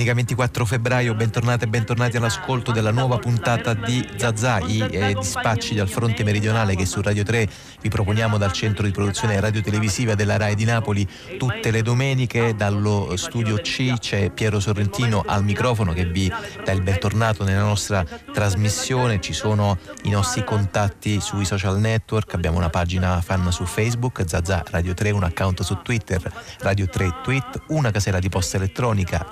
Domenica 24 febbraio, bentornate e bentornati all'ascolto della nuova puntata di Zazà, i dispacci dal fronte meridionale che su Radio 3 vi proponiamo dal centro di produzione radiotelevisiva della Rai di Napoli tutte le domeniche. Dallo studio C c'è Piero Sorrentino al microfono che vi dà il bentornato nella nostra trasmissione. Ci sono i nostri contatti sui social network, abbiamo una pagina fan su Facebook, Zazà Radio 3, un account su Twitter, Radio 3 Tweet, una casella di posta elettronica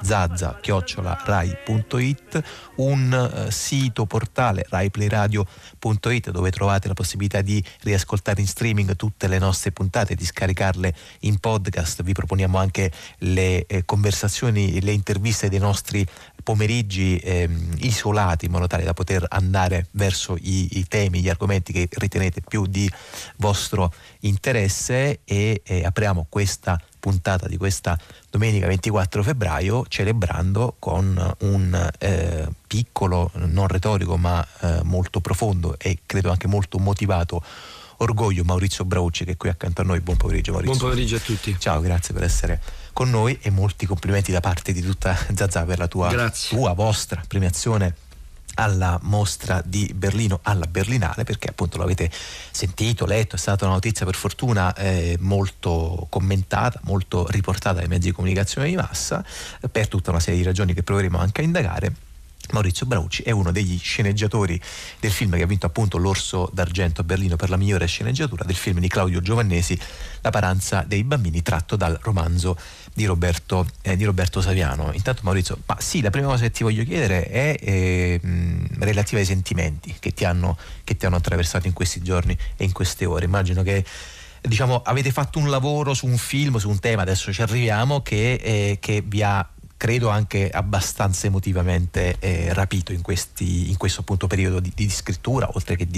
zazza@rai.it, un sito portale raiplayradio.it dove trovate la possibilità di riascoltare in streaming tutte le nostre puntate, di scaricarle in podcast. Vi proponiamo anche le conversazioni, le interviste dei nostri pomeriggi isolati in modo tale da poter andare verso i temi, gli argomenti che ritenete più di vostro interesse e apriamo questa puntata di questa domenica 24 febbraio celebrando con un piccolo, non retorico ma molto profondo e credo anche molto motivato orgoglio Maurizio Braucci che è qui accanto a noi. Buon pomeriggio Maurizio. Buon pomeriggio a tutti. Ciao, grazie per essere con noi e molti complimenti da parte di tutta Zazà per la vostra premiazione alla mostra di Berlino, alla Berlinale, perché appunto l'avete sentito, letto, è stata una notizia per fortuna molto commentata, molto riportata dai mezzi di comunicazione di massa per tutta una serie di ragioni che proveremo anche a indagare. Maurizio Braucci è uno degli sceneggiatori del film che ha vinto appunto l'Orso d'Argento a Berlino per la migliore sceneggiatura, del film di Claudio Giovannesi, La paranza dei bambini, tratto dal romanzo di Roberto Saviano. Intanto Maurizio, la prima cosa che ti voglio chiedere è relativa ai sentimenti che ti hanno attraversato in questi giorni e in queste ore. Immagino che avete fatto un lavoro su un film, su un tema, adesso ci arriviamo, che vi ha credo anche abbastanza emotivamente rapito in questo appunto periodo di scrittura, oltre che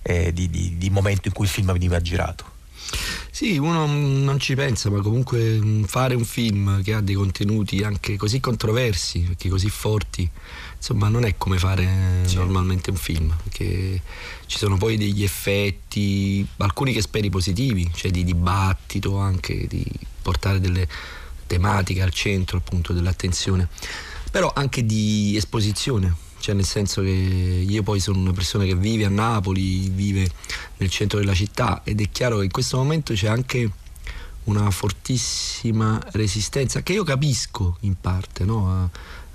di momento in cui il film veniva girato. Sì, uno non ci pensa, ma comunque fare un film che ha dei contenuti anche così controversi, perché così forti, insomma non è come fare normalmente un film, perché ci sono poi degli effetti, alcuni che speri positivi, cioè di dibattito, anche di portare delle tematiche al centro appunto dell'attenzione, però anche di esposizione, cioè nel senso che io poi sono una persona che vive a Napoli, vive nel centro della città ed è chiaro che in questo momento c'è anche una fortissima resistenza che io capisco in parte, no? A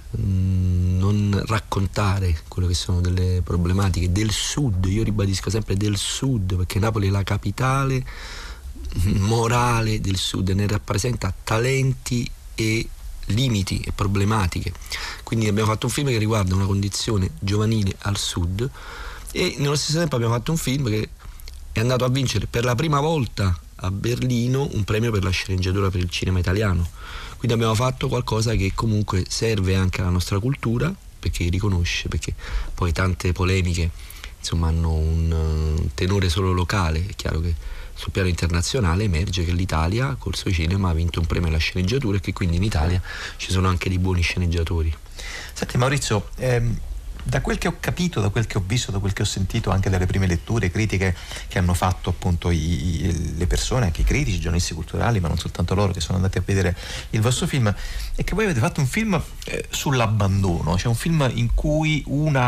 non raccontare quello che sono delle problematiche del sud, io ribadisco sempre del sud, perché Napoli è la capitale morale del sud, ne rappresenta talenti e limiti e problematiche, quindi abbiamo fatto un film che riguarda una condizione giovanile al sud e nello stesso tempo abbiamo fatto un film che è andato a vincere per la prima volta a Berlino un premio per la sceneggiatura per il cinema italiano, quindi abbiamo fatto qualcosa che comunque serve anche alla nostra cultura, perché riconosce, perché poi tante polemiche insomma hanno un tenore solo locale, è chiaro che sul piano internazionale emerge che l'Italia col suo cinema ha vinto un premio alla sceneggiatura e che quindi in Italia ci sono anche dei buoni sceneggiatori. Senti Maurizio, da quel che ho capito, da quel che ho visto, da quel che ho sentito anche dalle prime letture critiche che hanno fatto appunto le persone, anche i critici, i giornalisti culturali, ma non soltanto loro che sono andati a vedere il vostro film, è che voi avete fatto un film sull'abbandono, cioè un film in cui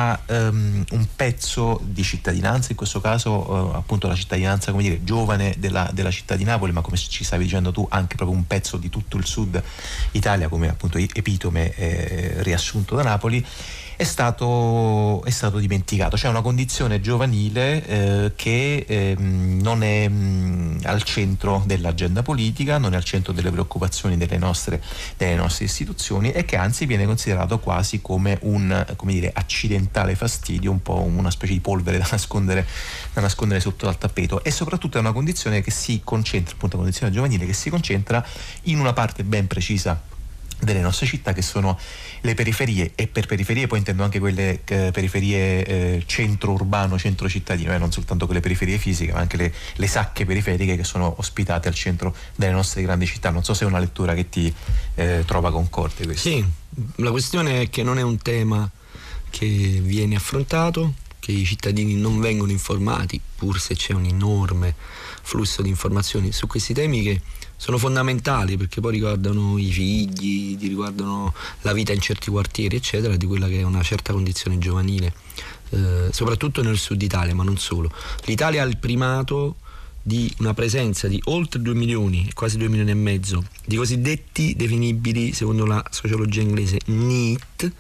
un pezzo di cittadinanza, in questo caso appunto la cittadinanza, come dire, giovane della città di Napoli, ma come ci stavi dicendo tu anche proprio un pezzo di tutto il sud Italia come appunto epitome riassunto da Napoli, è stato dimenticato. C'è una condizione giovanile che non è al centro dell'agenda politica, non è al centro delle preoccupazioni delle nostre istituzioni e che anzi viene considerato quasi come un accidentale fastidio, un po' una specie di polvere da nascondere sotto al tappeto, e soprattutto è una condizione che si concentra, appunto una condizione giovanile che si concentra in una parte ben precisa delle nostre città, che sono le periferie, e per periferie poi intendo anche quelle periferie centro urbano, centro cittadino, non soltanto quelle periferie fisiche ma anche le sacche periferiche che sono ospitate al centro delle nostre grandi città. Non so se è una lettura che ti trova concorde questo. Sì, la questione è che non è un tema che viene affrontato, che i cittadini non vengono informati, pur se c'è un enorme flusso di informazioni su questi temi che sono fondamentali, perché poi riguardano i figli, riguardano la vita in certi quartieri eccetera, di quella che è una certa condizione giovanile, soprattutto nel sud Italia, ma non solo. L'Italia ha il primato di una presenza di oltre 2 milioni, quasi 2 milioni e mezzo, di cosiddetti definibili, secondo la sociologia inglese, NEET,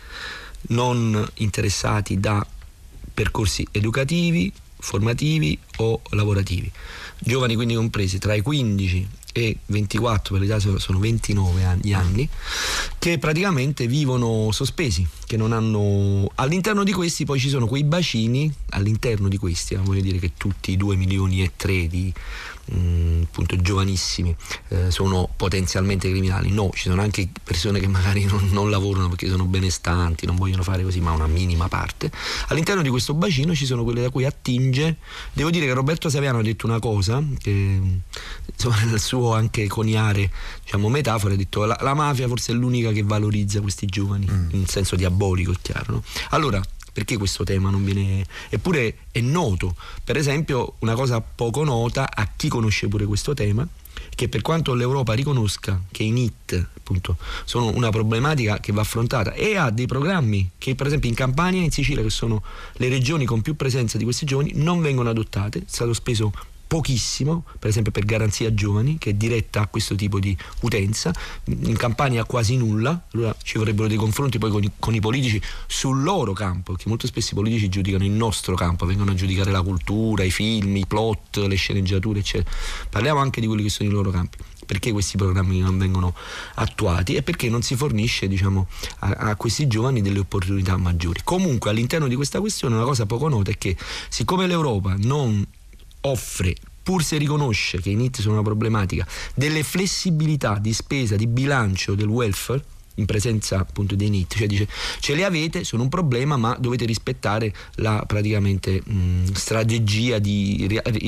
non interessati da percorsi educativi, formativi o lavorativi. Giovani quindi compresi tra i 15 e 24, per l'Italia sono 29 anni, che praticamente vivono sospesi, che non hanno. All'interno di questi poi ci sono quei bacini, all'interno di questi, voglio dire che tutti i 2 milioni e 3 di appunto giovanissimi sono potenzialmente criminali. No, ci sono anche persone che magari non lavorano perché sono benestanti, non vogliono fare così, ma una minima parte. All'interno di questo bacino ci sono quelle da cui attinge. Devo dire che Roberto Saviano ha detto una cosa che, insomma, nel suo anche coniare, diciamo, metafora, ha detto la mafia forse è l'unica che valorizza questi giovani in senso diabolico, è chiaro, no? Allora, perché questo tema non viene, eppure è noto, per esempio una cosa poco nota a chi conosce pure questo tema, che per quanto l'Europa riconosca che i NEET appunto sono una problematica che va affrontata e ha dei programmi che per esempio in Campania e in Sicilia, che sono le regioni con più presenza di questi giovani, non vengono adottate, è stato speso pochissimo, per esempio per Garanzia Giovani, che è diretta a questo tipo di utenza. In Campania quasi nulla. Allora ci vorrebbero dei confronti poi con i politici sul loro campo, perché molto spesso i politici giudicano il nostro campo, vengono a giudicare la cultura, i film, i plot, le sceneggiature eccetera. Parliamo anche di quelli che sono i loro campi. Perché questi programmi non vengono attuati e perché non si fornisce, diciamo, a questi giovani delle opportunità maggiori. Comunque all'interno di questa questione una cosa poco nota è che, siccome l'Europa non offre, pur se riconosce che i NEET sono una problematica, delle flessibilità di spesa, di bilancio del welfare in presenza appunto dei NEET, cioè dice ce li avete, sono un problema, ma dovete rispettare la praticamente strategia di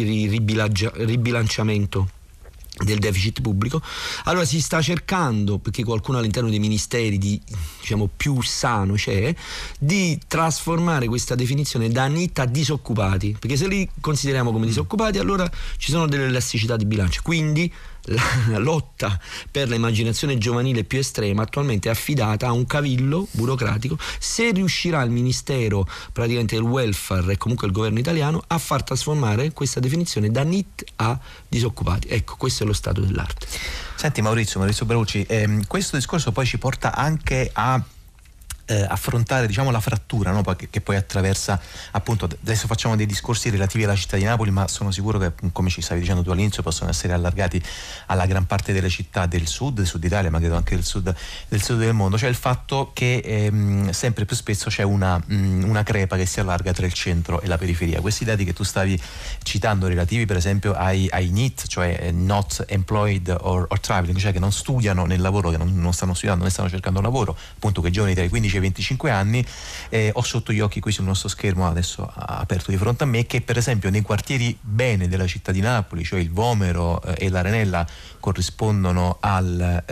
ribilanciamento del deficit pubblico. Allora si sta cercando, perché qualcuno all'interno dei ministeri diciamo più sano c'è, di trasformare questa definizione da NEET a disoccupati, perché se li consideriamo come disoccupati allora ci sono delle elasticità di bilancio, quindi la lotta per l'immaginazione giovanile più estrema attualmente è affidata a un cavillo burocratico. Se riuscirà il ministero praticamente del welfare e comunque il governo italiano a far trasformare questa definizione da NEET a disoccupati, ecco, questo è lo stato dell'arte. Senti Maurizio Bralucci, questo discorso poi ci porta anche a affrontare, diciamo, la frattura, no? Che poi attraversa, appunto, adesso facciamo dei discorsi relativi alla città di Napoli, ma sono sicuro che, come ci stavi dicendo tu all'inizio, possono essere allargati alla gran parte delle città del sud Italia, ma credo anche del sud del mondo. Cioè il fatto che sempre più spesso c'è una crepa che si allarga tra il centro e la periferia. Questi dati che tu stavi citando relativi per esempio ai NEET, cioè not employed or traveling, cioè che non studiano nel lavoro, che non stanno studiando né stanno cercando lavoro, appunto, che giovani tra i 15 e 25 anni, ho sotto gli occhi qui sul nostro schermo adesso aperto di fronte a me, che per esempio nei quartieri bene della città di Napoli, cioè il Vomero e l'Arenella, corrispondono al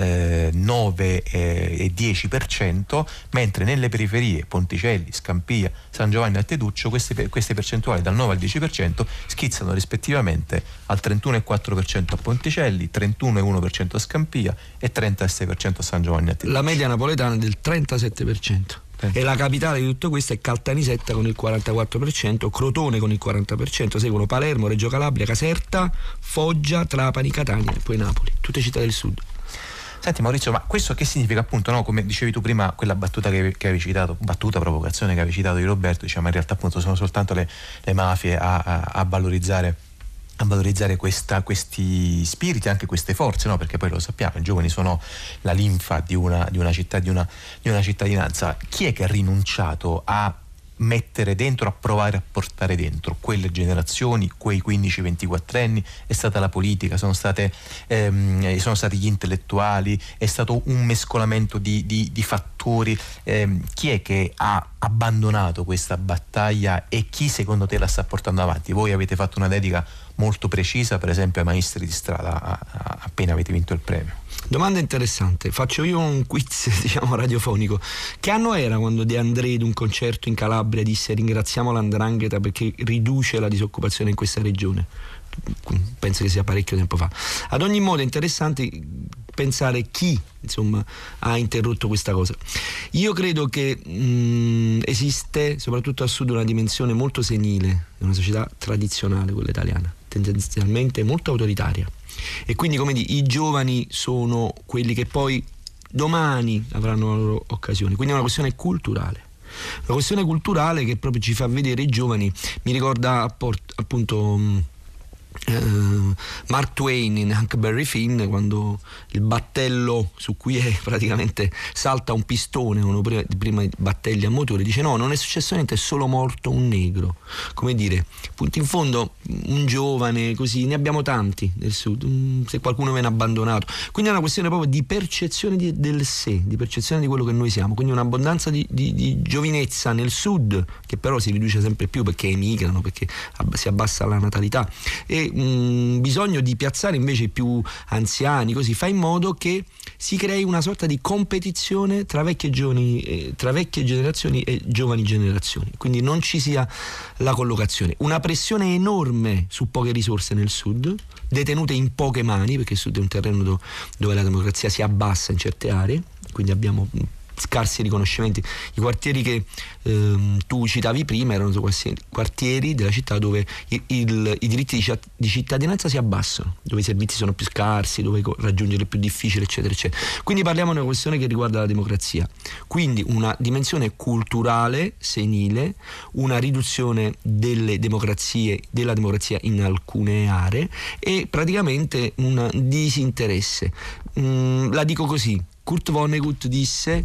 9 e 10%, mentre nelle periferie, Ponticelli, Scampia, San Giovanni e Teduccio, queste percentuali dal 9 al 10% schizzano rispettivamente al 31,4% a Ponticelli, 31,1% a Scampia e 36% a San Giovanni e Teduccio. La media napoletana è del 37%. E la capitale di tutto questo è Caltanissetta con il 44%, Crotone con il 40%, seguono Palermo, Reggio Calabria, Caserta, Foggia, Trapani, Catania e poi Napoli, tutte città del sud. Senti Maurizio, ma questo che significa, appunto, no? Come dicevi tu prima, quella battuta che avevi citato, provocazione che avevi citato di Roberto, diciamo in realtà appunto sono soltanto le mafie a valorizzare questi spiriti, anche queste forze, no? Perché poi lo sappiamo, i giovani sono la linfa di una città, di una cittadinanza. Chi è che ha rinunciato a mettere dentro, a provare a portare dentro quelle generazioni, quei 15-24 anni? È stata la politica, sono stati gli intellettuali, è stato un mescolamento di fattori. Chi è che ha abbandonato questa battaglia e chi secondo te la sta portando avanti? Voi avete fatto una dedica molto precisa, per esempio ai maestri di strada, appena avete vinto il premio. Domanda interessante, faccio io un quiz diciamo radiofonico. Che anno era quando De André, ad un concerto in Calabria, disse ringraziamo l''ndrangheta perché riduce la disoccupazione in questa regione? penso che sia parecchio tempo fa. Ad ogni modo è interessante pensare chi, insomma, ha interrotto questa cosa. Io credo che esiste soprattutto al sud una dimensione molto senile, una società tradizionale, quella italiana, tendenzialmente molto autoritaria, e quindi, come dire, i giovani sono quelli che poi domani avranno la loro occasione, quindi è una questione culturale. Una questione culturale che proprio ci fa vedere i giovani. Mi ricorda appunto Mark Twain in Huckleberry Finn, quando il battello su cui praticamente salta un pistone, uno prima di battagli a motore, dice no, non è successo niente, è solo morto un negro. Come dire, appunto, in fondo un giovane così, ne abbiamo tanti nel sud, se qualcuno viene abbandonato, quindi è una questione proprio di percezione del sé, di percezione di quello che noi siamo, quindi un'abbondanza di giovinezza nel sud, che però si riduce sempre più perché emigrano, perché si abbassa la natalità, e bisogno di piazzare invece i più anziani, così fa in modo che si crei una sorta di competizione tra vecchie generazioni e giovani generazioni, quindi non ci sia la collocazione, una pressione enorme su poche risorse nel sud, detenute in poche mani, perché il sud è un terreno dove la democrazia si abbassa in certe aree, quindi abbiamo scarsi riconoscimenti. I quartieri che tu citavi prima erano quartieri della città dove i diritti di cittadinanza si abbassano, dove i servizi sono più scarsi, dove raggiungere è più difficile, eccetera eccetera. Quindi parliamo di una questione che riguarda la democrazia, quindi una dimensione culturale senile, una riduzione della democrazia in alcune aree e praticamente un disinteresse. La dico così: Kurt Vonnegut disse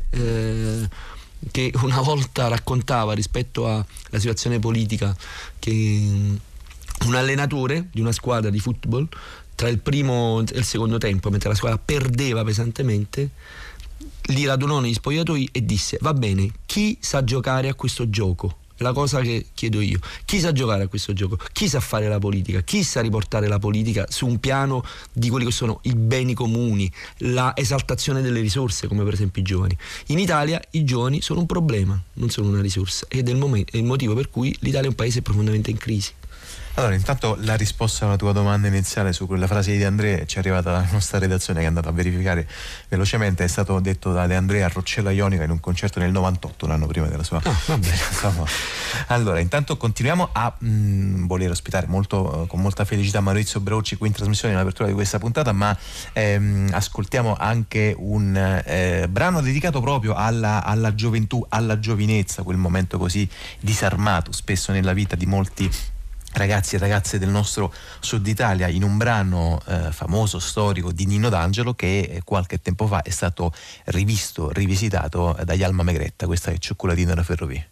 che una volta raccontava, rispetto alla situazione politica, che un allenatore di una squadra di football, tra il primo e il secondo tempo, mentre la squadra perdeva pesantemente, li radunò negli spogliatoi e disse: va bene, chi sa giocare a questo gioco? La cosa che chiedo io: chi sa giocare a questo gioco? Chi sa fare la politica? Chi sa riportare la politica su un piano di quelli che sono i beni comuni, la esaltazione delle risorse, come per esempio i giovani? In Italia i giovani sono un problema, non sono una risorsa, ed è il motivo per cui l'Italia è un paese profondamente in crisi. Allora, intanto la risposta alla tua domanda iniziale su quella frase di De André ci è arrivata dalla nostra redazione, che è andata a verificare velocemente. È stato detto da De André a Roccella Ionica in un concerto nel 98, un anno prima della sua. Allora, intanto continuiamo a voler ospitare con molta felicità Maurizio Braucci qui in trasmissione in apertura di questa puntata, ma ascoltiamo anche un brano dedicato proprio alla gioventù, alla giovinezza, quel momento così disarmato spesso nella vita di molti ragazzi e ragazze del nostro Sud Italia, in un brano famoso, storico di Nino D'Angelo, che qualche tempo fa è stato rivisitato dagli Alma Megretta. Questa è Cioccolatino da Ferrovie.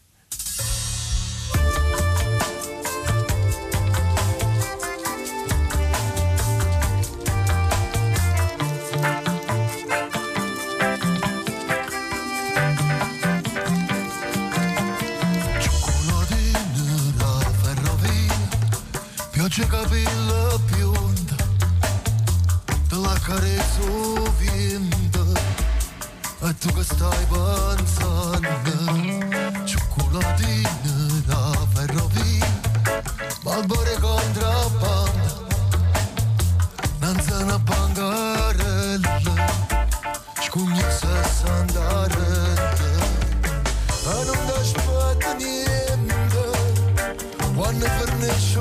Pioggia capilla bionda, te la carezzo vinta, e tu che stai pensando, cioccolatine da ferrovia, Marlboro contrabbanda, non se una bancarella, scugni 60 rette, e non ti aspetta niente, quando finisce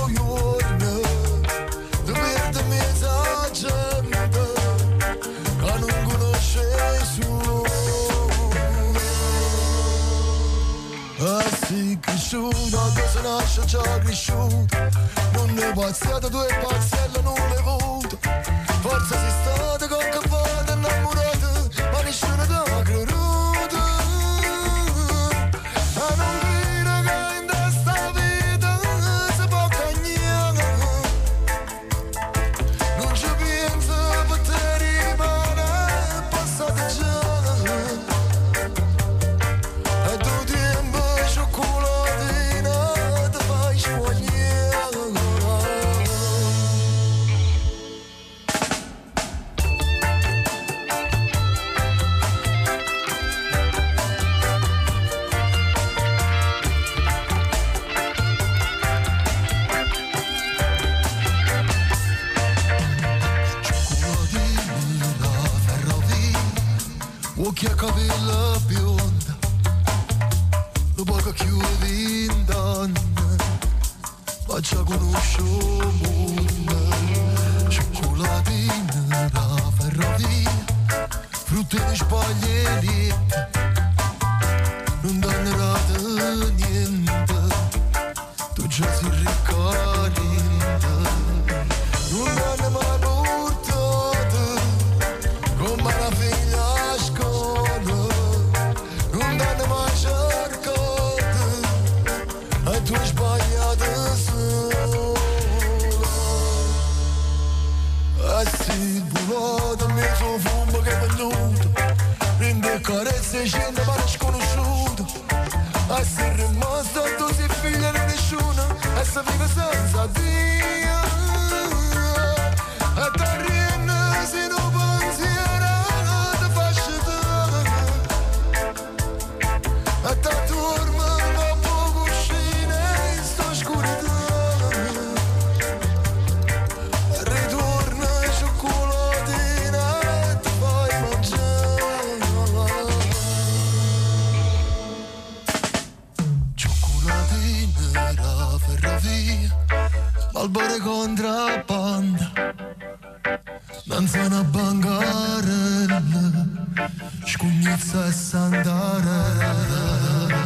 cresciuto, che se nasce già cresciuto, non ne passate due parcelle, non le avuto, forse sei stata con che vada innamorata, ma nessuno ti ha creduto, e non dire che in questa vita si può cagnare, non ci penso per te rimane, è passato già. occhi a capella bionda, dopo che chiudi in donne, faccia conoscere il mondo, cioccolatine da ferrovia, frutte e spagliette, non danno niente, tu già si ricordi, non danno mai portato, come una figlia a scuola, non danno mai cercato, e tu hai sbagliato sola. E si volato in mezzo fumo che è venuto, prende carezze e scende ma non sconosciuto, e si è rimasto tu sei figlia di nessuno, e si vive senza Dio, e ti rienne se non pensiero ti faccio te, e ti dorme da poco scene in sta oscurità, ritorna cioccolatine e ti fai mangiare, cioccolatine da ferrovia, Malboro contrabbanda, danza una bancarella, scugnizza e sandarella.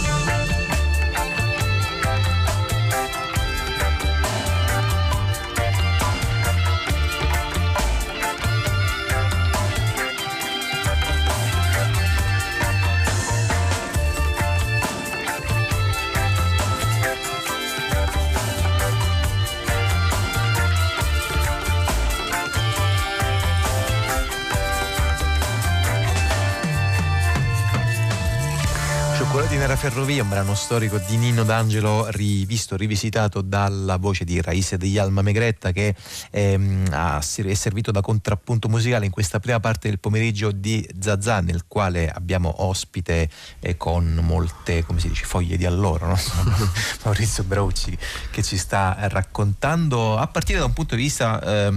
Cioccolatine nella ferrovia, un brano storico di Nino D'Angelo rivisto, rivisitato dalla voce di Raisa degli Alma Megretta, che è servito da contrappunto musicale in questa prima parte del pomeriggio di Zazà, nel quale abbiamo ospite con molte, come si dice, foglie di alloro, no? Maurizio Braucci, che ci sta raccontando a partire da un punto di vista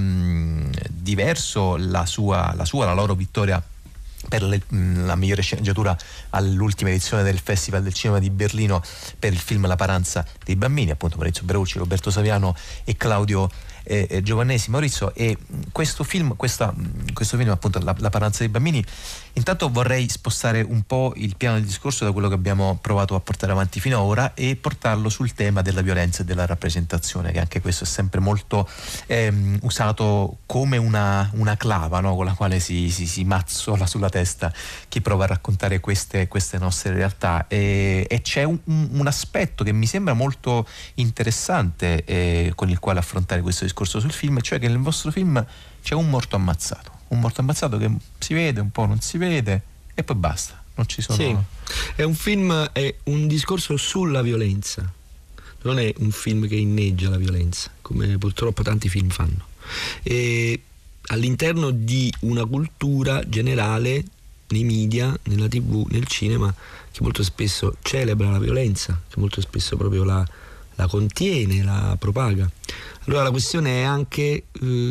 diverso la loro vittoria per la migliore sceneggiatura all'ultima edizione del Festival del Cinema di Berlino per il film La paranza dei bambini, appunto Maurizio Braucci, Roberto Saviano e Claudio Giovannesi. Maurizio, e questo film appunto La paranza dei bambini, intanto vorrei spostare un po' il piano del discorso da quello che abbiamo provato a portare avanti fino ad ora e portarlo sul tema della violenza e della rappresentazione, che anche questo è sempre molto usato come una clava, no? Con la quale si mazzola sulla testa chi prova a raccontare queste nostre realtà, e c'è un aspetto che mi sembra molto interessante con il quale affrontare questo discorso sul film, cioè che nel vostro film c'è un morto ammazzato che si vede, un po' non si vede e poi basta, non ci sono. Sì, è un film, è un discorso sulla violenza, non è un film che inneggia la violenza come purtroppo tanti film fanno, e all'interno di una cultura generale nei media, nella TV, nel cinema, che molto spesso celebra la violenza, che molto spesso proprio la contiene, la propaga. Allora la questione è anche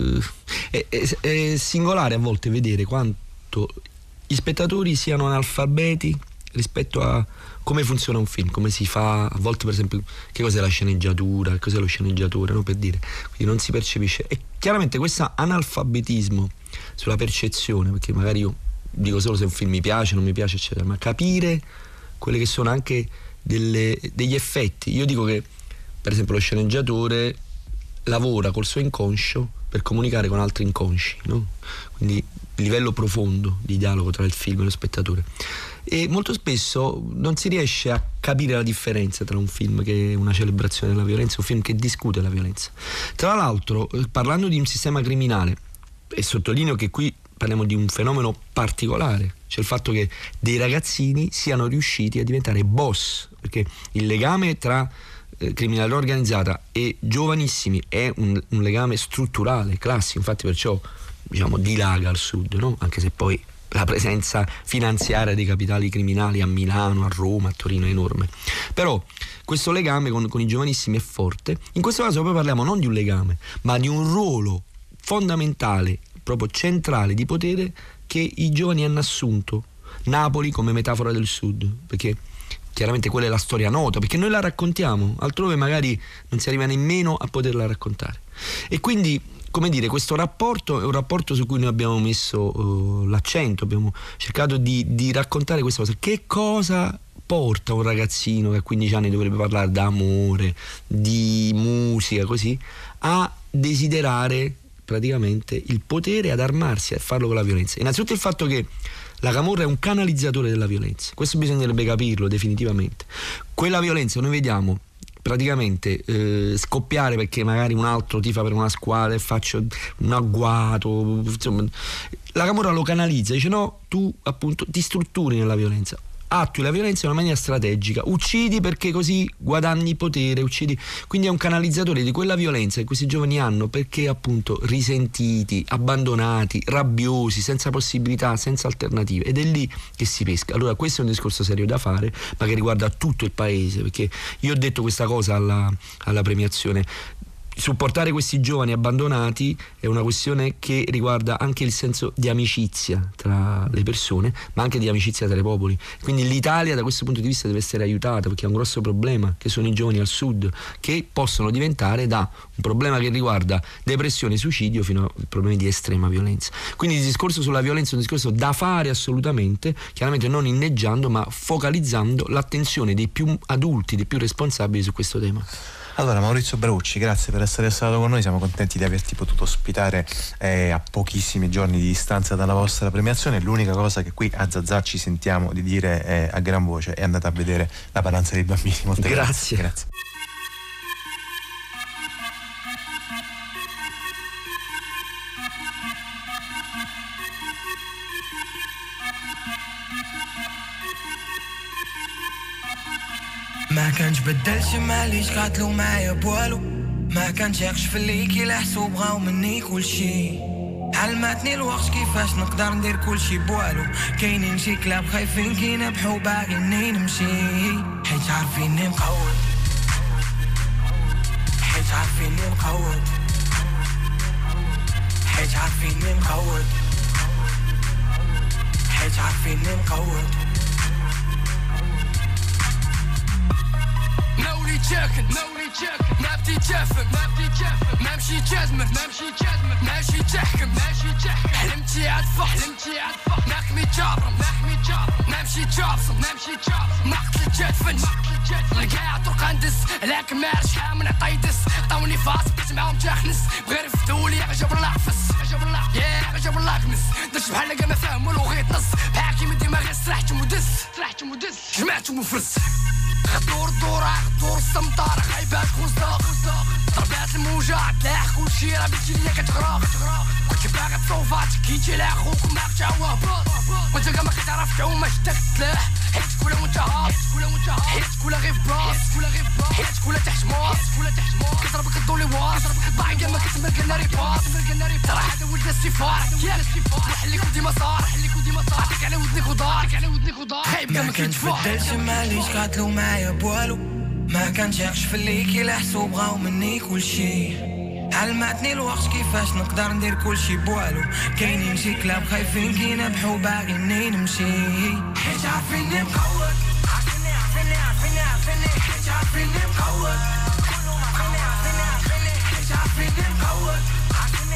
è singolare a volte vedere quanto gli spettatori siano analfabeti rispetto a come funziona un film, come si fa, a volte per esempio che cos'è la sceneggiatura, che cos'è lo sceneggiatore, no? Per dire, quindi non si percepisce, e chiaramente questo analfabetismo sulla percezione, perché magari io dico solo se un film mi piace, non mi piace eccetera, ma capire quelle che sono anche degli effetti. Io dico che per esempio lo sceneggiatore lavora col suo inconscio per comunicare con altri inconsci, no? Quindi il livello profondo di dialogo tra il film e lo spettatore, e molto spesso non si riesce a capire la differenza tra un film che è una celebrazione della violenza e un film che discute la violenza. Tra l'altro, parlando di un sistema criminale, e sottolineo che qui parliamo di un fenomeno particolare, cioè il fatto che dei ragazzini siano riusciti a diventare boss, perché il legame tra criminalità organizzata e giovanissimi è un legame strutturale, classico, infatti perciò diciamo dilaga al sud, no? Anche se poi la presenza finanziaria dei capitali criminali a Milano, a Roma, a Torino è enorme, però questo legame con i giovanissimi è forte. In questo caso poi parliamo non di un legame, ma di un ruolo fondamentale, proprio centrale di potere che i giovani hanno assunto Napoli come metafora del Sud, perché chiaramente quella è la storia nota, perché noi la raccontiamo, altrove magari non si arriva nemmeno a poterla raccontare. E quindi, come dire, questo rapporto è un rapporto su cui noi abbiamo messo l'accento, abbiamo cercato di raccontare questa cosa. Che cosa porta un ragazzino che a 15 anni dovrebbe parlare d'amore, di musica, così, a desiderare praticamente il potere, ad armarsi, a farlo con la violenza? Innanzitutto il fatto che la camorra è un canalizzatore della violenza, questo bisognerebbe capirlo definitivamente. Quella violenza noi vediamo praticamente scoppiare perché magari un altro tifa per una squadra e faccio un agguato, insomma, la camorra lo canalizza, dice no, tu appunto ti strutturi nella violenza, attui la violenza in una maniera strategica, uccidi perché così guadagni potere, uccidi, quindi è un canalizzatore di quella violenza che questi giovani hanno, perché appunto risentiti, abbandonati, rabbiosi, senza possibilità, senza alternative, ed è lì che si pesca. Allora questo è un discorso serio da fare, ma che riguarda tutto il paese, perché io ho detto questa cosa alla premiazione. Supportare questi giovani abbandonati è una questione che riguarda anche il senso di amicizia tra le persone, ma anche di amicizia tra i popoli. Quindi l'Italia da questo punto di vista deve essere aiutata, perché ha un grosso problema, che sono i giovani al sud, che possono diventare da un problema che riguarda depressione e suicidio fino a problemi di estrema violenza. Quindi il discorso sulla violenza è un discorso da fare assolutamente, chiaramente non inneggiando, ma focalizzando l'attenzione dei più adulti, dei più responsabili su questo tema. Allora Maurizio Braucci, grazie per essere stato con noi, siamo contenti di averti potuto ospitare a pochissimi giorni di distanza dalla vostra premiazione. L'unica cosa che qui a Zazà ci sentiamo di dire a gran voce è andate a vedere La Paranza dei bambini. Molte grazie. Grazie. ما كانش بدلش ماليش قاتلو معايا بوالو ما كانش يقش في الليكي لحسو بغاو مني كلشي علمتني الوقت كيفاش نقدر ندير كلشي بوالو كاينين شي كلاب خايفين كينبحو باغيني نمشي حيت عارفيني مقود حيت عارفيني مقود حيت عارفيني مقود حيت عارفيني مقود نولي تشاكن نبدي تشافن نمشي جازمن ماشي تحكم حلمتي عتفح نحمي جابرم نمشي جابصم نقتل جدفن نقاع طرق ندس لكن ما رشحة من عطيدس طوني فاس بيت معاهم تخنس بغير فتولي عجب الله عفس يا عجب الله كنس درت بحال لقا ما فاهمو لو غيط نص بحاكي من ديما غير سرحت مدس جمعت مفرس دور السمطار غايبات خزاق ضربات الموجة تلاح كلشي راه بنتي ليا كتغرق كنت باغي تصوفات كيتي لاخوك وماك تعوه وانت كاع ما كتعرف تعوم شدك تلاح حيت كولا وانت هابط حيت كولا غير فباص حيت كولا تحت ماس كضربك الضولي واس باغي كاع ما كتمرك ناري باص ترى هذا ولد السفار نحليك ودي مسار عطيك على ودنك ودار خايب كاع ما كتفدلش ماليش قاتلو معايا بوالو ما كانش يقش في الليكي لحسو بغاو مني كلشي علمتني الوقت كيفاش نقدر ندير كلشي بوالو كاينين شي كلاب خايفين كينبحو باغيني نمشي حيت عارفيني مقود عارفيني حيت عارفيني مقود كلهم عارفيني حيت عارفيني مقود عارفيني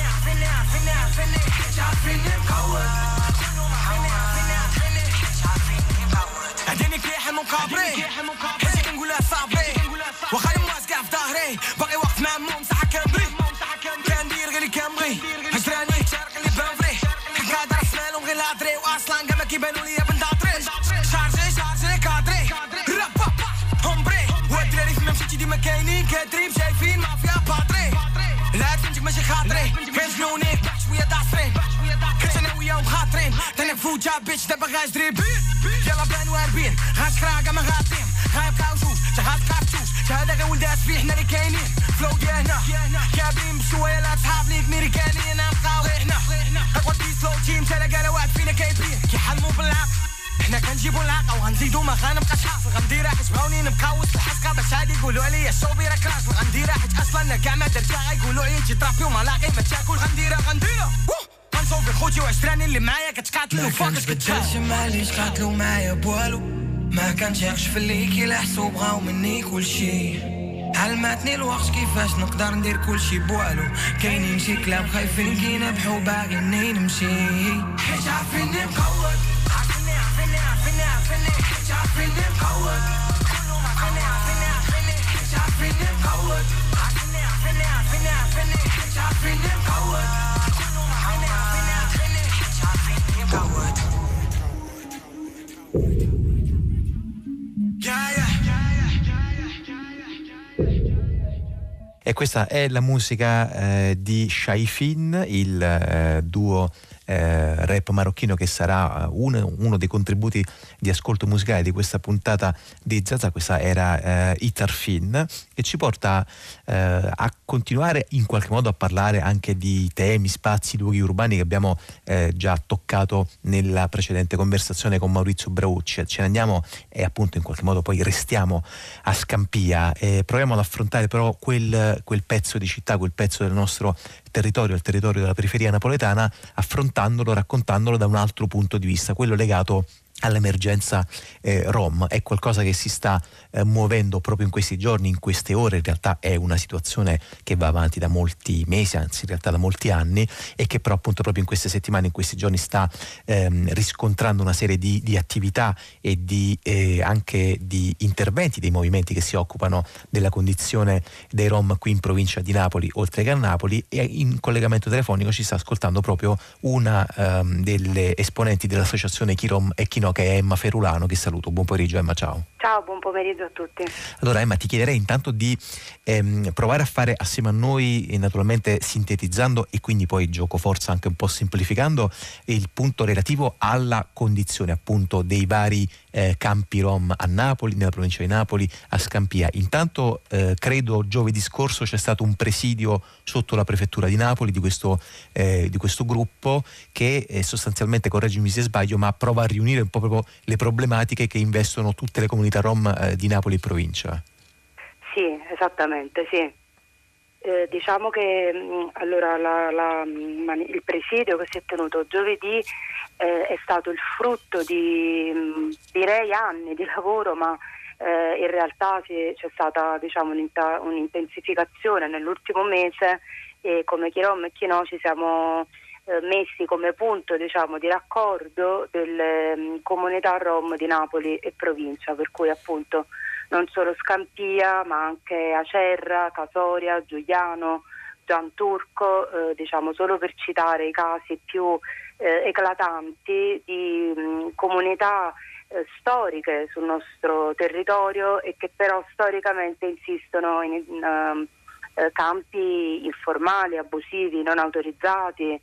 حيت عارفيني مقود كلهم عارفيني حيت عارفيني مقود هديني كيح المقابري حيت كنقولها صابري وخالي مواس كاع في ظهري باقي وقت مع مو مساحة كنبري كندير غير اللي كنبغي هجراني تشارك اللي بنفري كنقادر اسمالهم غير الهضري واصلا كاع ما كيبانو ليا بنداطري شارجي كادري رابا هومبري والدراري فما مشيتي ديما كاينين كدريب شايفين مافيا باتري لا فهمتك ماشي خاطري غير جنوني شويه داصرين كنت انا وياهم خاطرين تنفو جاب بيتش دابا غاجري يلا بان واربين غاشكراكا ما غاطين غايبقاو جوج غاتبقى بجوج هذا غير ولد اسفي حنا اللي كاينين فلو ديالنا كابين بشويه لا صحاب ليك ميريكانيين نبقاو غير حنا اقوى سلو تيم تلاقى واحد فينا كايبين كيحلموا بالعقل حنا كنجيبو العاقه وغنزيدو ما غنبقاش حاصل غنديرها حيت بغاوني نبقى وسط الحسقه باش هادي يقولوا عليا الشوبي راك راسل غنديرها حيت اصلا كاع ما درتها غيقولوا عليا انت طرافي وما لاقي ما تاكل غنديرها صوفي خوتي وعشراني اللي معايا كتقاتلوا فاكس كتبدلش مع اللي تقاتلوا معايا بوالو ما كنشيخش في اللي كيلحسوا بغاو مني كلشي علمتني الوقت كيفاش نقدر ندير كلشي بوالو كاينين شي كلاب خايفين كينبحو باغيني نمشي حيت عارفيني مقود عارفيني حيت عارفيني مقود كلهم عارفيني حيت عارفيني مقود عارفيني حيت عارفيني مقود كلهم عارفيني حيت عارفيني مقود E questa è la musica di Shaifin, il duo rap marocchino che sarà uno dei contributi di ascolto musicale di questa puntata di Zaza. Questa era Itarfin, e ci porta a continuare in qualche modo a parlare anche di temi, spazi, luoghi urbani che abbiamo già toccato nella precedente conversazione con Maurizio Braucci. Ce ne andiamo e appunto in qualche modo poi restiamo a Scampia e proviamo ad affrontare però quel pezzo di città, quel pezzo del nostro territorio, il territorio della periferia napoletana, affrontandolo, raccontandolo da un altro punto di vista, quello legato all'emergenza Rom. È qualcosa che si sta muovendo proprio in questi giorni, in queste ore. In realtà è una situazione che va avanti da molti mesi, anzi in realtà da molti anni, e che però appunto proprio in queste settimane, in questi giorni sta riscontrando una serie di attività e anche di interventi dei movimenti che si occupano della condizione dei Rom qui in provincia di Napoli, oltre che a Napoli. E in collegamento telefonico ci sta ascoltando proprio una delle esponenti dell'associazione Chi Rom e Chi No, che è Emma Ferulano, che saluto. Buon pomeriggio Emma, ciao. Ciao, buon pomeriggio a tutti. Allora Emma, ti chiederei intanto di provare a fare assieme a noi, naturalmente sintetizzando e quindi poi gioco forza anche un po' semplificando, il punto relativo alla condizione appunto dei vari campi Rom a Napoli, nella provincia di Napoli, a Scampia. Intanto credo giovedì scorso c'è stato un presidio sotto la prefettura di Napoli di questo gruppo che sostanzialmente, correggimi se sbaglio, ma prova a riunire un po' proprio le problematiche che investono tutte le comunità Rom di Napoli e provincia. Sì, esattamente, sì. Diciamo che allora il presidio che si è tenuto giovedì è stato il frutto di direi anni di lavoro, ma in realtà c'è stata, diciamo, un'intensificazione nell'ultimo mese, e come Chi Rom e Chi No ci siamo messi come punto, diciamo, di raccordo delle comunità Rom di Napoli e provincia, per cui appunto non solo Scampia ma anche Acerra, Casoria, Giuliano, Gianturco, diciamo solo per citare i casi più eclatanti di comunità storiche sul nostro territorio e che però storicamente insistono in campi informali, abusivi, non autorizzati,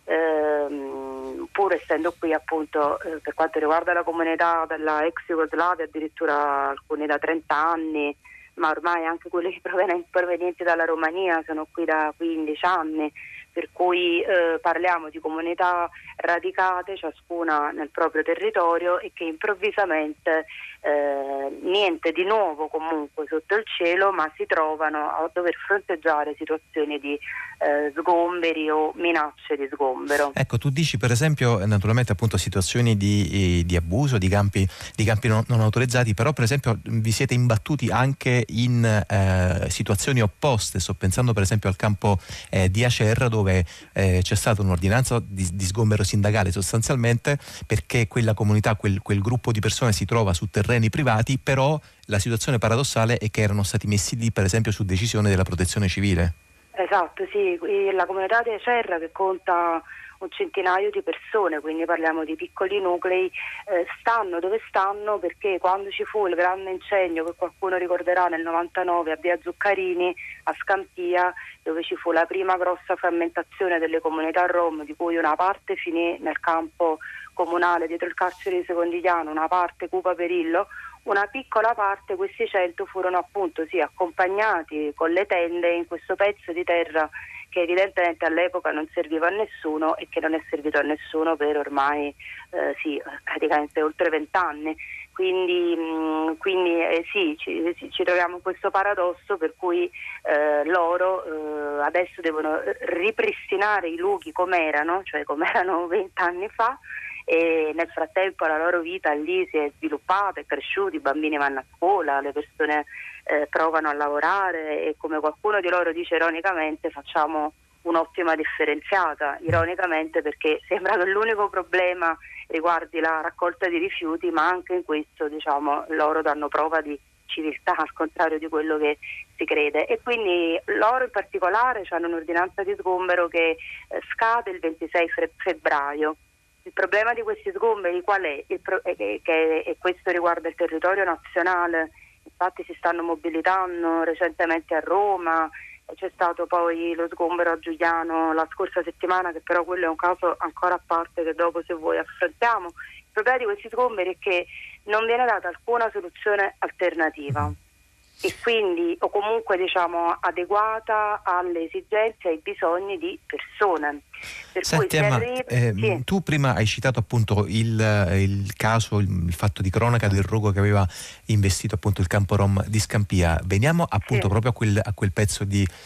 pur essendo qui appunto per quanto riguarda la comunità della ex Jugoslavia addirittura alcuni da 30 anni, ma ormai anche quelli provenienti dalla Romania sono qui da 15 anni, per cui parliamo di comunità radicate ciascuna nel proprio territorio e che improvvisamente niente di nuovo comunque sotto il cielo, ma si trovano a dover fronteggiare situazioni di sgomberi o minacce di sgombero. Ecco, tu dici per esempio naturalmente appunto situazioni di abuso, di campi non autorizzati, però per esempio vi siete imbattuti anche in situazioni opposte. Sto pensando per esempio al campo di Acerra, dove c'è stata un'ordinanza di sgombero sindacale sostanzialmente perché quella comunità, quel gruppo di persone si trova su terreni privati, però la situazione paradossale è che erano stati messi lì per esempio su decisione della protezione civile. Esatto, sì, la comunità di Acerra, che conta un centinaio di persone, quindi parliamo di piccoli nuclei, stanno dove stanno perché quando ci fu il grande incendio, che qualcuno ricorderà, nel 99 a Via Zuccarini a Scampia, dove ci fu la prima grossa frammentazione delle comunità Rom, di cui una parte finì nel campo comunale dietro il carcere di Secondigliano, una parte Cupa Perillo, una piccola parte, questi 100 furono appunto accompagnati con le tende in questo pezzo di terra che evidentemente all'epoca non serviva a nessuno e che non è servito a nessuno per ormai praticamente oltre 20 anni. Quindi sì, ci troviamo in questo paradosso per cui loro adesso devono ripristinare i luoghi come erano 20 anni fa, e nel frattempo la loro vita lì si è sviluppata, è cresciuta, i bambini vanno a scuola, le persone provano a lavorare, e come qualcuno di loro dice ironicamente, facciamo un'ottima differenziata, ironicamente, perché sembra che l'unico problema riguardi la raccolta di rifiuti, ma anche in questo loro danno prova di civiltà, al contrario di quello che si crede. E quindi loro in particolare hanno un'ordinanza di sgombero che scade il 26 febbraio. Il problema di questi sgomberi qual è? E questo riguarda il territorio nazionale, infatti si stanno mobilitando recentemente a Roma, c'è stato poi lo sgombero a Giugliano la scorsa settimana, che però quello è un caso ancora a parte che dopo, se vuoi, affrontiamo. Il problema di questi sgomberi è che non viene data alcuna soluzione alternativa, e quindi, o comunque adeguata alle esigenze e ai bisogni di persone. Per Senti, cui sì. Tu prima hai citato appunto il caso, il fatto di cronaca del rogo che aveva investito appunto il campo rom di Scampia. Veniamo appunto proprio a quel pezzo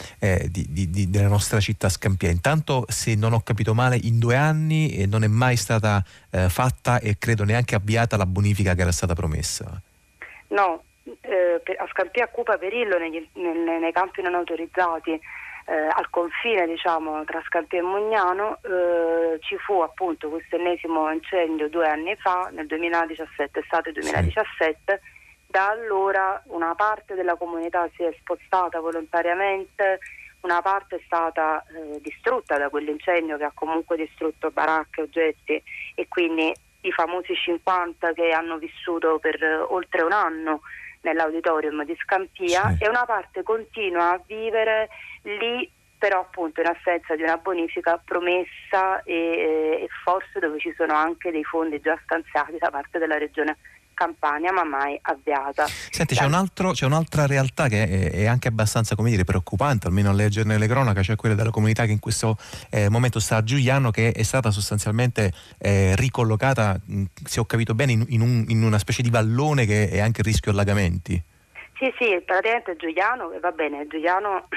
della nostra città, Scampia. Intanto, se non ho capito male, in 2 anni non è mai stata fatta, e credo neanche avviata, la bonifica che era stata promessa. No, a Scampia, a Cupa Perillo, nei campi non autorizzati, al confine tra Scampia e Mugnano, ci fu appunto questo ennesimo incendio 2 anni fa, nel 2017, estate 2017. Sì. Da allora una parte della comunità si è spostata volontariamente, una parte è stata distrutta da quell'incendio che ha comunque distrutto baracche, oggetti, e quindi i famosi 50 che hanno vissuto per oltre un anno nell'auditorium di Scampia, sì. E una parte continua a vivere lì, però appunto in assenza di una bonifica promessa e forse dove ci sono anche dei fondi già stanziati da parte della regione Campania, ma mai avviata. Senti, c'è un'altra realtà che è anche abbastanza, preoccupante, almeno a leggerne le cronache, cioè quella della comunità che in questo momento sta a Giugliano, che è stata sostanzialmente ricollocata, se ho capito bene, in una specie di vallone che è anche a rischio allagamenti. Sì, praticamente Giugliano, va bene, Giugliano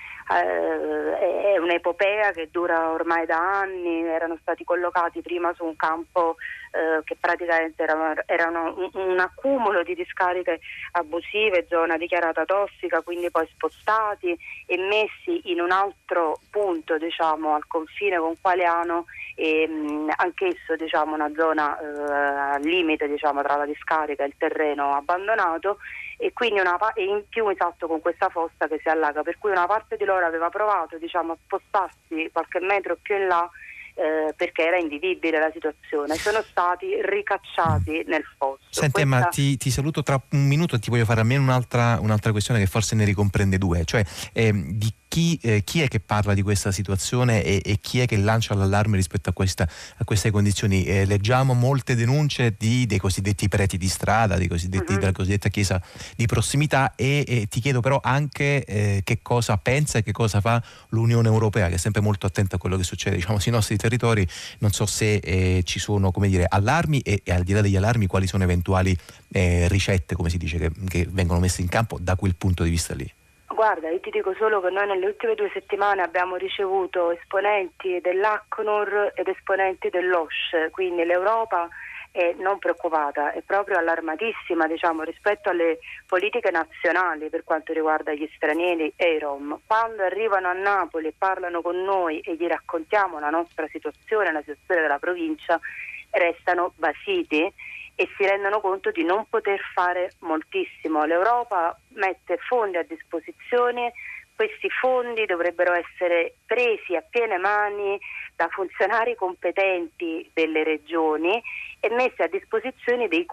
è un'epopea che dura ormai da anni. Erano stati collocati prima su un campo che praticamente erano un accumulo di discariche abusive, zona dichiarata tossica, quindi poi spostati e messi in un altro punto, al confine con Qualiano, e anch'esso una zona al limite tra la discarica e il terreno abbandonato, e quindi in più con questa fossa che si allaga, per cui una parte di loro aveva provato a spostarsi qualche metro più in là perché era invivibile la situazione. Sono stati ricacciati nel fosso. Senti, ma ti saluto tra un minuto, e ti voglio fare almeno un'altra questione che forse ne ricomprende 2, cioè di chi è che parla di questa situazione e chi è che lancia l'allarme rispetto a queste condizioni. Leggiamo molte denunce dei cosiddetti preti di strada, della cosiddetta chiesa di prossimità, e ti chiedo però anche che cosa pensa e che cosa fa l'Unione Europea, che è sempre molto attenta a quello che succede sui nostri territori. Non so se ci sono allarmi, e al di là degli allarmi quali sono eventuali ricette, come si dice, che vengono messe in campo da quel punto di vista lì. Guarda, io ti dico solo che noi nelle ultime 2 settimane abbiamo ricevuto esponenti dell'ACNUR ed esponenti dell'OSCE, quindi l'Europa è non preoccupata, è proprio allarmatissima rispetto alle politiche nazionali per quanto riguarda gli stranieri e i Rom. Quando arrivano a Napoli e parlano con noi e gli raccontiamo la nostra situazione, la situazione della provincia, restano basiti e si rendono conto di non poter fare moltissimo. L'Europa mette fondi a disposizione, questi fondi dovrebbero essere presi a piene mani da funzionari competenti delle regioni e messi a disposizione dei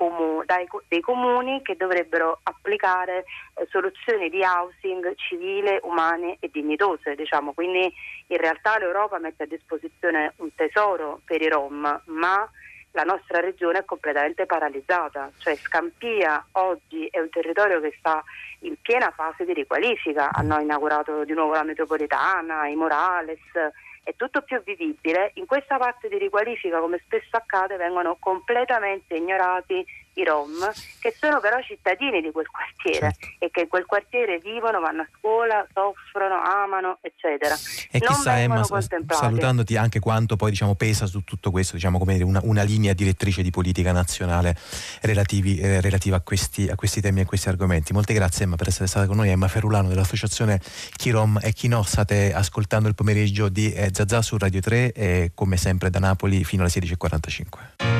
comuni che dovrebbero applicare soluzioni di housing civile, umane e dignitose. Quindi in realtà l'Europa mette a disposizione un tesoro per i Rom, ma la nostra regione è completamente paralizzata, cioè Scampia oggi è un territorio che sta in piena fase di riqualifica. Hanno inaugurato di nuovo la metropolitana, i Morales, è tutto più vivibile, in questa parte di riqualifica, come spesso accade, vengono completamente ignorati i Rom, che sono però cittadini di quel quartiere, certo, e che in quel quartiere vivono, vanno a scuola, soffrono, amano, eccetera. E non chissà, Emma, salutandoti, anche quanto poi pesa su tutto questo, come dire, una linea direttrice di politica nazionale relativa a questi temi e a questi argomenti. Molte grazie, Emma, per essere stata con noi. Emma Ferulano dell'associazione Chi Rom e Chi No. State ascoltando il pomeriggio di Zazà su Radio 3 e come sempre da Napoli fino alle 16:45.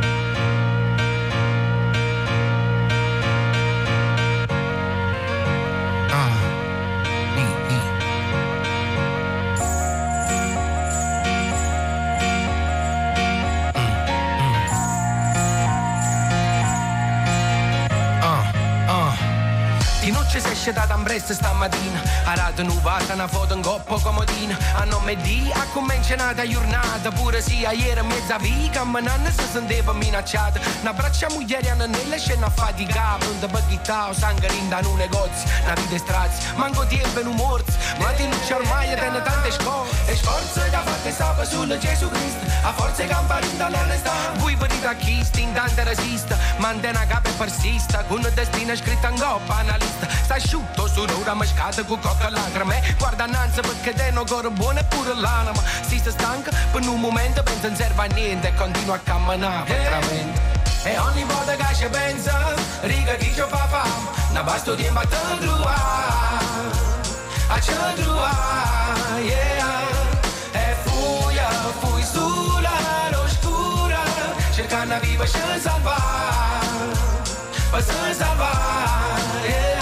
Ci si esce da Tambressa stamattina, a rata nuvata, una foto in coppa comodina. A nome di, a cominciata giornata, pure sia ieri mezza vita, ma non si sentiva minacciata. Una braccia muglieriana nella scena fatica, pronta per chittare, sangarinda in un negozio, una vita strazia, manco tempo in un morso, ma ti luce ormai e tenne tante scorse. E sforze che ha fatte stava sul Gesù Cristo, a forza che camparinda l'onestà. Voi venite a chi stintante resista, mantena capo e persista, con un destino scritto in coppa, analista. Sta asciutto su un'ora mascata con coca lacrime. Guarda innanzi perché te non corre buono e pure l'anima. Si sta stanca per un momento, pensa non serve a niente e continua a camminare veramente. E ogni volta che ci pensa, riga chi ci fa fame, non basta di imbattere trovare. A ci trovare, yeah. E fui sulla l'oscura, cercando di vivere e salvare, per se salvare, yeah.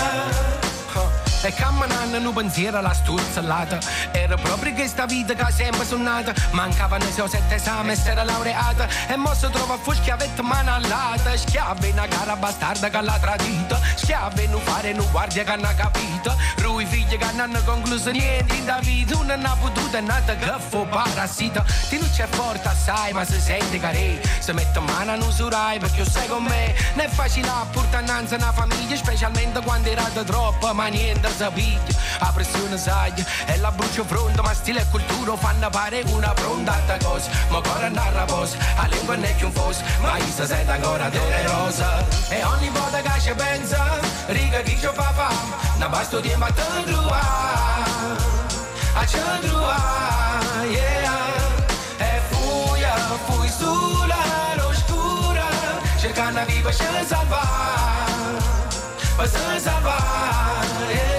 E camminando in un pensiero alla stuzzolata, era proprio questa vita che ha sempre suonata. Mancavano i suoi 7 esami e si era laureata, e mo si trova fu schiavetta mano all'alta. Schiave in una cara bastarda che l'ha tradita, schiave in un fare in un guardia che non ha capito. Lui figli che non hanno concluso niente in da vita, non ha potuto è nata che fu parassita. Ti non c'è forte assai ma si sente care, si mette mano a non usurai perché sai con me. Non è facile a portare innanzi una famiglia, specialmente quando era troppo, ma niente sapiglia. A pressione saglia e la brucio fronte, ma stile e cultura fanno pare una pronta alta cosa. Ma ancora andare a posa, a lingua non è più un fosse, ma io si sente ancora dolorosa. E ogni volta che ci pensa, riga chi ci fa fame, non basta di imbattere trovare. A ci trovare, yeah. E fui sulla l'oscura, cercando di vivere e salvare, per se salvare, yeah.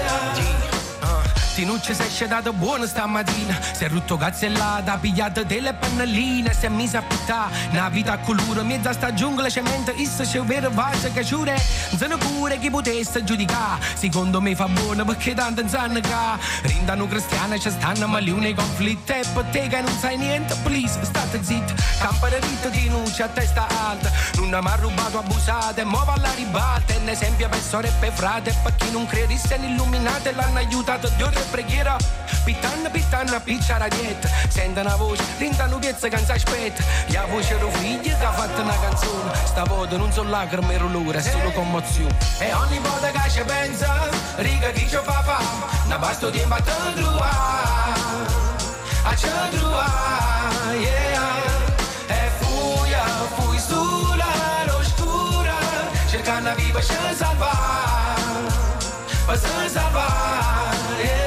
Tinucci si è scedato buono stamattina, si è rotto cazzellata, ha pigliato delle pannelline, si è mise a pittare una vita a colore, mezza sta giungla cemento, issa c'è un vero vaso che giure, non pure chi potesse giudicare, secondo me fa buono perché tanto non sanno che rindano cristiani ci stanno maliuni i conflitti, e per te che non sai niente, please, state zitti, campare ritto Tinucci a testa alta, non mi ha rubato abusate, mo va alla ribalta, è un esempio per sorelle e per frate, e per chi non credesse in illuminate l'hanno aiutato Dio preghiera, pittanna, piccia radietta, sente una voce, rintano piezza che non si aspetta, la voce ero figlia che ha fatto una canzone, sta volta non sono lacrime e dolore, è solo commozione. E ogni volta che ci pensa, riga chi ci fa fame, non basta di imbattere trovare, a ci trovare, yeah. E fui sulla l'oscura, cercando di vivere e salvare, per se salvare, yeah.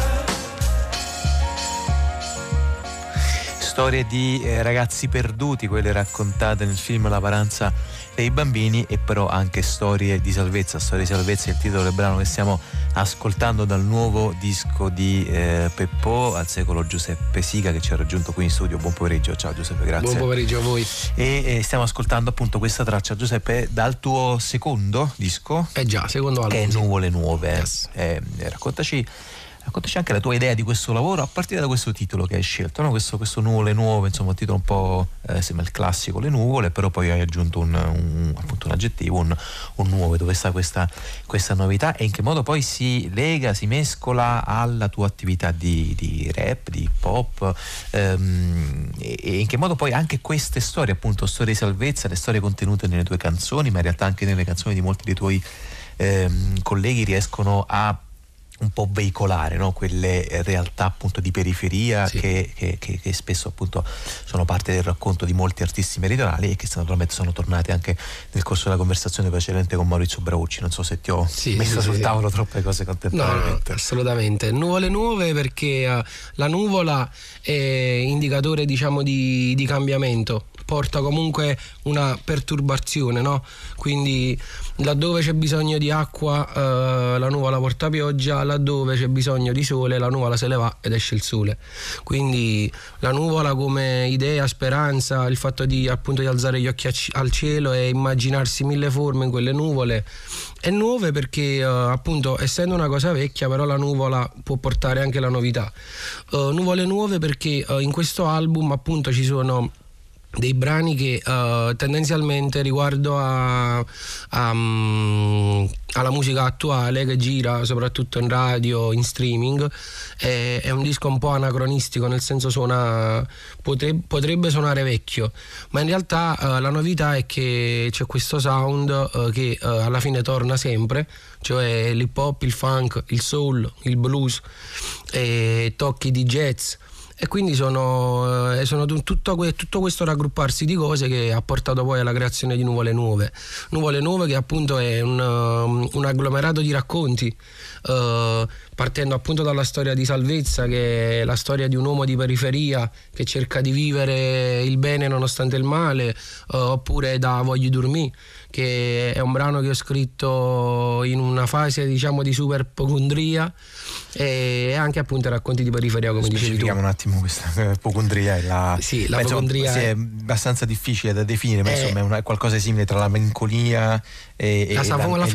Storie di ragazzi perduti, quelle raccontate nel film La paranza dei bambini, e però anche storie di salvezza. Storie di salvezza è il titolo del brano che stiamo ascoltando dal nuovo disco di Peppò, Al secolo Giuseppe Siga, che ci ha raggiunto qui in studio. Buon pomeriggio. Ciao Giuseppe, grazie. Buon pomeriggio a voi. E stiamo ascoltando appunto questa traccia, Giuseppe, dal tuo secondo disco. Già, secondo album. Che è Nuvole Nuove. Yes. Raccontaci anche la tua idea di questo lavoro a partire da questo titolo che hai scelto, no? Questo Nuvole Nuove, insomma un titolo un po' sembra il classico, le nuvole, però poi hai aggiunto appunto un aggettivo, un nuovo. Dove sta questa novità e in che modo poi si lega, si mescola alla tua attività di rap, di hip hop, e in che modo poi anche queste storie, appunto storie di salvezza, le storie contenute nelle tue canzoni, ma in realtà anche nelle canzoni di molti dei tuoi colleghi, riescono a un po' veicolare, no? Quelle realtà appunto di periferia che spesso appunto sono parte del racconto di molti artisti meridionali e che naturalmente sono tornati anche nel corso della conversazione precedente con Maurizio Braucci. Non so se ti ho messo sul tavolo troppe cose contemporaneamente. No, assolutamente. Nuvole nuove, perché la nuvola è indicatore, diciamo, di cambiamento, porta comunque una perturbazione, no? Quindi laddove c'è bisogno di acqua la nuvola porta pioggia, laddove c'è bisogno di sole la nuvola se ne va ed esce il sole. Quindi la nuvola come idea, speranza, il fatto di appunto di alzare gli occhi al cielo e immaginarsi mille forme in quelle nuvole. È nuove perché appunto, essendo una cosa vecchia, però la nuvola può portare anche la novità. Nuvole nuove perché in questo album appunto ci sono dei brani che tendenzialmente, riguardo alla musica attuale che gira soprattutto in radio, in streaming, è un disco un po' anacronistico, nel senso potrebbe suonare vecchio, ma in realtà la novità è che c'è questo sound che alla fine torna sempre, cioè l'hip hop, il funk, il soul, il blues, tocchi di jazz. E quindi sono tutto questo raggrupparsi di cose che ha portato poi alla creazione di Nuvole Nuove. Nuvole Nuove, che appunto è un agglomerato di racconti, partendo appunto dalla storia di Salvezza, che è la storia di un uomo di periferia che cerca di vivere il bene nonostante il male, oppure da Voglio dormire, che è un brano che ho scritto in una fase, diciamo, di super ipocondria, e anche appunto racconti di periferia, come dicevi tu. Specifichiamo un attimo questa ipocondria. La ipocondria è abbastanza difficile da definire, ma insomma è qualcosa simile tra la melancolia e la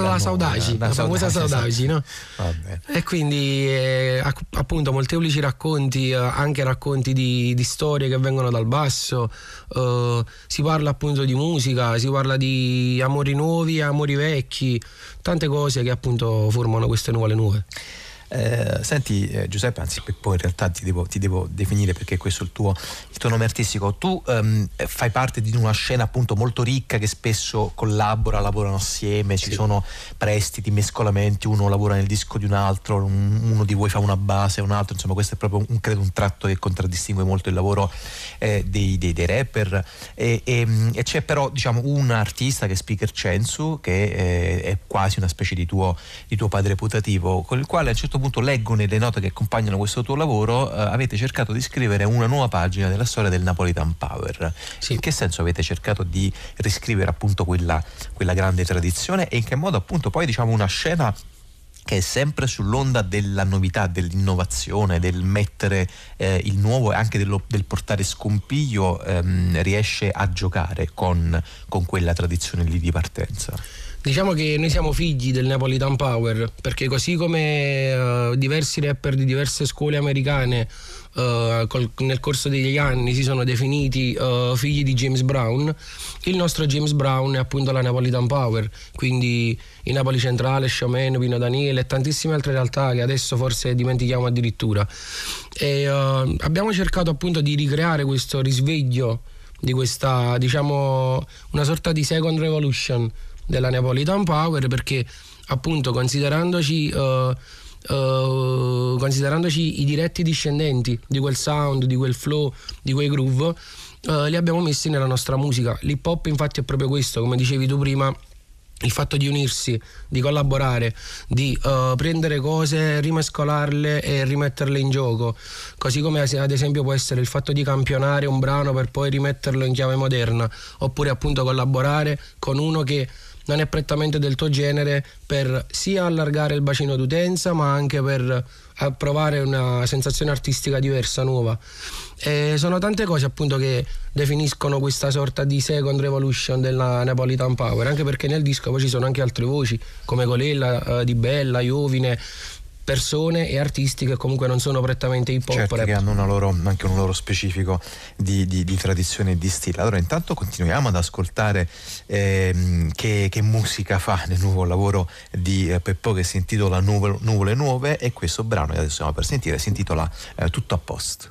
famosa saudade, no? E quindi appunto molteplici racconti, anche racconti di storie che vengono dal basso. Si parla appunto di musica, si parla di amori nuovi, amori vecchi, tante cose che appunto formano queste nuvole nuove. Senti Giuseppe, anzi poi in realtà ti devo definire, perché questo è il tuo nome artistico. Tu fai parte di una scena appunto molto ricca, che spesso lavorano assieme, ci sono prestiti, mescolamenti, uno lavora nel disco di un altro, uno di voi fa una base, un altro, insomma questo è proprio credo un tratto che contraddistingue molto il lavoro dei rapper, e c'è però, diciamo, un artista che è Speaker Censu, che è quasi una specie di tuo padre putativo, con il quale a un certo punto leggo nelle note che accompagnano questo tuo lavoro, avete cercato di scrivere una nuova pagina della storia del Napolitan Power. In che senso avete cercato di riscrivere appunto quella grande tradizione, e in che modo appunto poi, diciamo, una scena che è sempre sull'onda della novità, dell'innovazione, del mettere il nuovo e anche del portare scompiglio, riesce a giocare con quella tradizione lì di partenza? Diciamo che noi siamo figli del Napolitan Power, perché così come diversi rapper di diverse scuole americane nel corso degli anni si sono definiti figli di James Brown, il nostro James Brown è appunto la Napolitan Power, quindi in Napoli Centrale, Showman, Pino Daniele e tantissime altre realtà che adesso forse dimentichiamo addirittura. E abbiamo cercato appunto di ricreare questo risveglio di questa, diciamo, una sorta di second revolution della Napolitan Power, perché appunto considerandoci i diretti discendenti di quel sound, di quel flow, di quei groove, li abbiamo messi nella nostra musica. L'hip hop infatti è proprio questo, come dicevi tu prima, il fatto di unirsi, di collaborare, di prendere cose, rimescolarle e rimetterle in gioco, così come ad esempio può essere il fatto di campionare un brano per poi rimetterlo in chiave moderna, oppure appunto collaborare con uno che non è prettamente del tuo genere, per sia allargare il bacino d'utenza ma anche per provare una sensazione artistica diversa, nuova. E sono tante cose appunto che definiscono questa sorta di second revolution della Napolitan Power, anche perché nel disco poi ci sono anche altre voci come Colella, Di Bella, Iovine, persone e artisti che comunque non sono prettamente hip hop, certo, che hanno anche un loro specifico di tradizione e di stile. Allora intanto continuiamo ad ascoltare che musica fa nel nuovo lavoro di Peppò, che si intitola Nuvole Nuove, e questo brano che adesso stiamo per sentire si intitola Tutto a posto.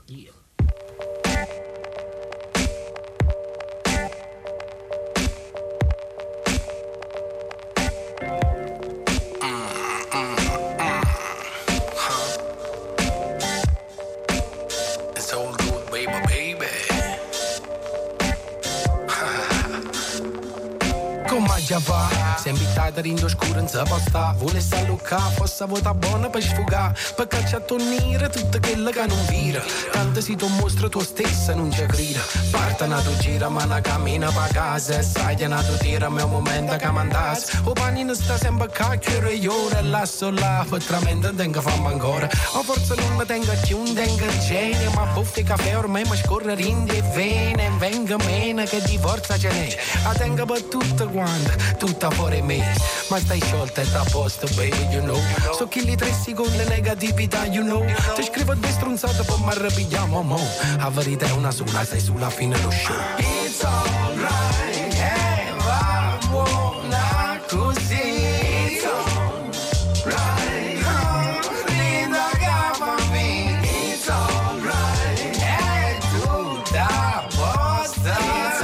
si fa. Se invitata rindo scuro non si può sta. Volesse alluccare, fosse vota buona per sfugare. Per cacciare tornire tutto quello che non vira. Tanto si tu mostra tu stessa non ci crida. Parta una tu gira ma una cammina pa casa. Sai che una tu tira mio momento che mandas. O panino sta sempre cacchiere io rilasso là. Potramente non tengo fame ancora. O forse non mi tengo più, non tengo genio. Ma buffi caffè ormai mi scorre in le vene. Venga meno che di forza ce n'è. La tengo per tutto quanto, tutta fuori me. Ma stai sciolta e da posto, baby, you know. So chi li 3 secondi negatività, you know. Ti scrivo 2 stronzate poi mi arrabbiamo, mo. La verità è una sola, sei sulla fine dello show. It's alright, va buona così. It's alright, linda che fa me. It's alright, è tutta a posto. It's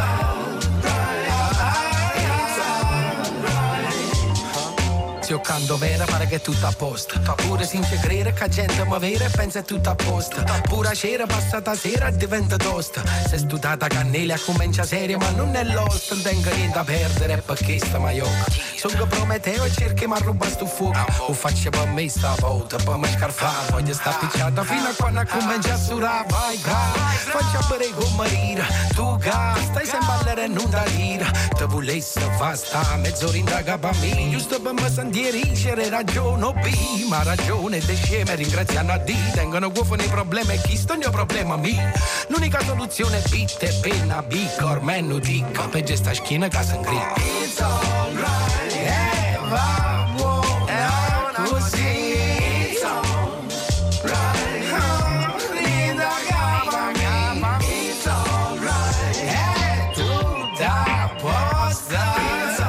alright. Se io canto vera pare che è tutto a posto. Pure senza credere che la gente mi vera e pensa è tutto a posto. Pura cera passata sera diventa tosta. Se studata cannella comincia seria ma non è lost. Non tengo niente da perdere perché sta maioca. Sono Prometeo e cerchi ma ruba sto fuoco. O faccio per me sta volta per me scarfare. Voglio sta picciata fino a quando comincia a surare. Vai faccia bere con marira. Tu gas stai sempre a ballare e non da tira. Te volesse fa sta mezz'ora in da capa mia. Giusto per me sentire ragione o B. Ma ragione de sceme ringraziano a D. Tengono guofo nei problemi e chi sto il mio problema mio. L'unica soluzione è bitte e penna bicca. Ormai non dica peggio sta schiena che si ingrippa. It's alright, va buona così. It's alright, linda capa mia. It's alright, è tutta a posto. It's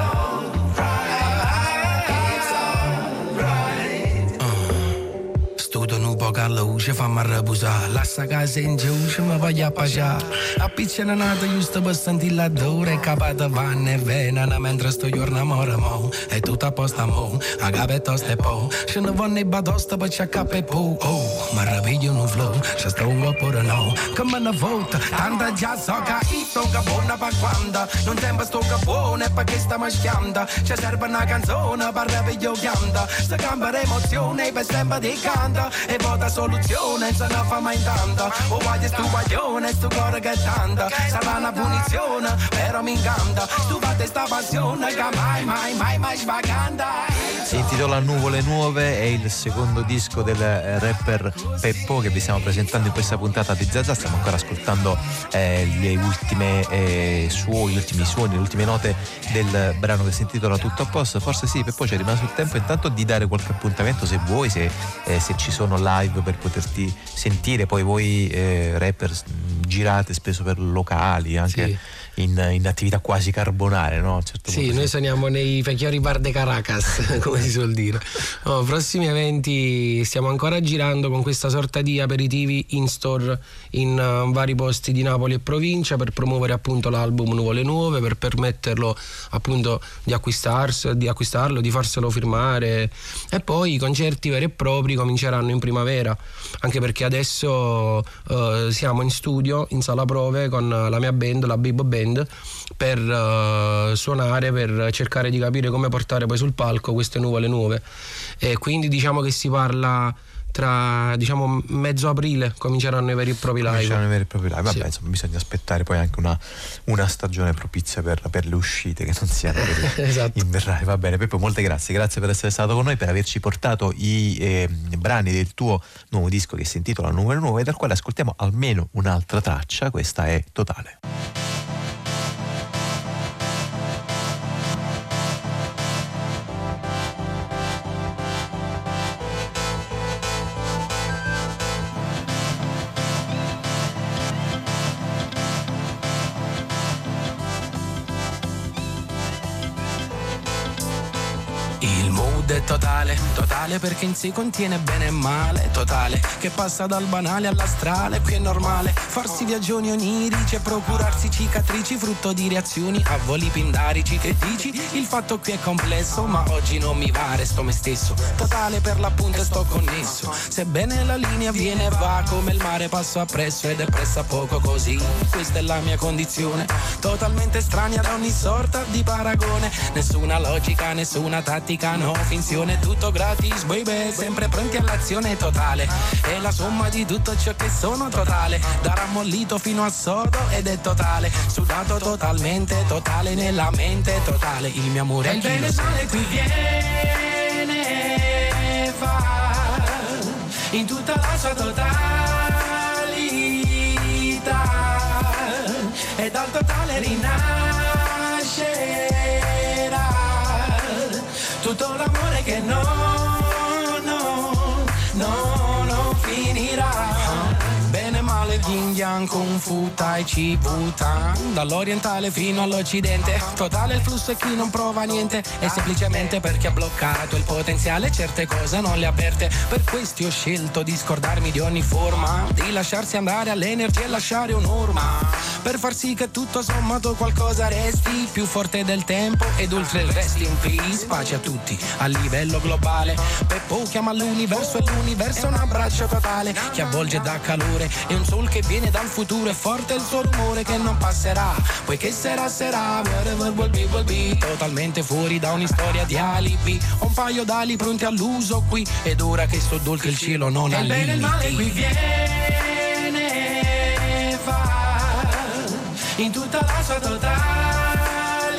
alright. Studo un po' che luce fammi arrabusare. Lascia casa in giù mi voglio appaggiare. Appicciano nato giusto per sentire l'odore. Capata vanne e venena mentre sto giorno amore mo. È tutto a posto mo. A cape tosta e po. Se ne vanno i batosta per c'è capo e po. Oh, ma rapiglio un flow. Se sto oppure no. Che me ne vota. Tanta già so che sto che buona per quando. Non tempo sto che buona e perché sta maschiando. Ci serve una canzone per rapiglio chianda. Se cambia emozione per sempre di canta. E vota soluzione se non fa mai tanto. O voglio stu guaglione, stu cuore che tanta. Sarà una punizione, però mi incanta. Tu fate sta passione che mai svaganta. Si intitola Nuvole Nuove, è il secondo disco del rapper Peppo che vi stiamo presentando in questa puntata di Zazà. Stiamo ancora ascoltando gli ultimi suoni, le ultime note del brano che si intitola Tutto a posto. Forse sì, Peppo c'è rimasto il tempo intanto di dare qualche appuntamento se vuoi, se ci sono live per poterti sentire. Poi voi rapper girate spesso per locali anche sì. in attività quasi carbonare, no? Certo sì, noi suoniamo nei Vecchiori Bar de Caracas come si suol dire. No, prossimi eventi stiamo ancora girando con questa sorta di aperitivi in store in vari posti di Napoli e provincia per promuovere appunto l'album Nuvole Nuove, per permetterlo appunto di acquistarlo, di farselo firmare, e poi i concerti veri e propri cominceranno in primavera, anche perché adesso siamo in studio in sala prove con la mia band, la Bibo Band, per suonare, per cercare di capire come portare poi sul palco queste nuvole nuove, e quindi diciamo che si parla tra mezzo aprile cominceranno i veri e propri live. Vabbè, sì. Insomma, bisogna aspettare poi anche una stagione propizia per le uscite che non siano esatto. invernali. Va bene, Peppo, molte grazie per essere stato con noi, per averci portato i brani del tuo nuovo disco che si intitola Nuvole Nuove, dal quale ascoltiamo almeno un'altra traccia. Questa è Totale. Totale, totale perché in sé contiene bene e male, totale che passa dal banale all'astrale. Qui è normale farsi viaggioni onirici e procurarsi cicatrici frutto di reazioni a voli pindarici. Che dici? Il fatto qui è complesso ma oggi non mi va, resto me stesso, totale per l'appunto e sto connesso. Sebbene la linea viene e va come il mare, passo appresso ed è pressa poco così. Questa è la mia condizione, totalmente estranea da ogni sorta di paragone. Nessuna logica, nessuna tattica, no finzione, tutto gratis baby, sempre pronti all'azione totale. È la somma di tutto ciò che sono totale, da rammollito fino al sodo ed è totale, sudato totalmente, totale nella mente, totale. Il mio amore è il bene e male qui viene e va in tutta la sua totalità e dal totale rinascerà tutto l'amore che non finirà. Bene male yin yang kung fu tai chi butan, dall'orientale fino all'occidente, totale il flusso e chi non prova niente è semplicemente perché ha bloccato il potenziale, certe cose non le ha aperte. Per questi ho scelto di scordarmi di ogni forma, di lasciarsi andare all'energia e lasciare un'orma, per far sì che tutto sommato qualcosa resti più forte del tempo ed oltre il rest in peace. Pace a tutti a livello globale, Peppo chiama l'universo e l'universo è un abbraccio totale che avvolge da calore. È un sol che viene dal futuro, è forte il suo rumore che non passerà, poiché sarà, whatever will be, totalmente fuori da ogni storia di alibi. Ho un paio d'ali pronti all'uso qui, ed ora che sto dolce il cielo non ha limiti. Il bene e il male qui viene e va in tutta la sua totalità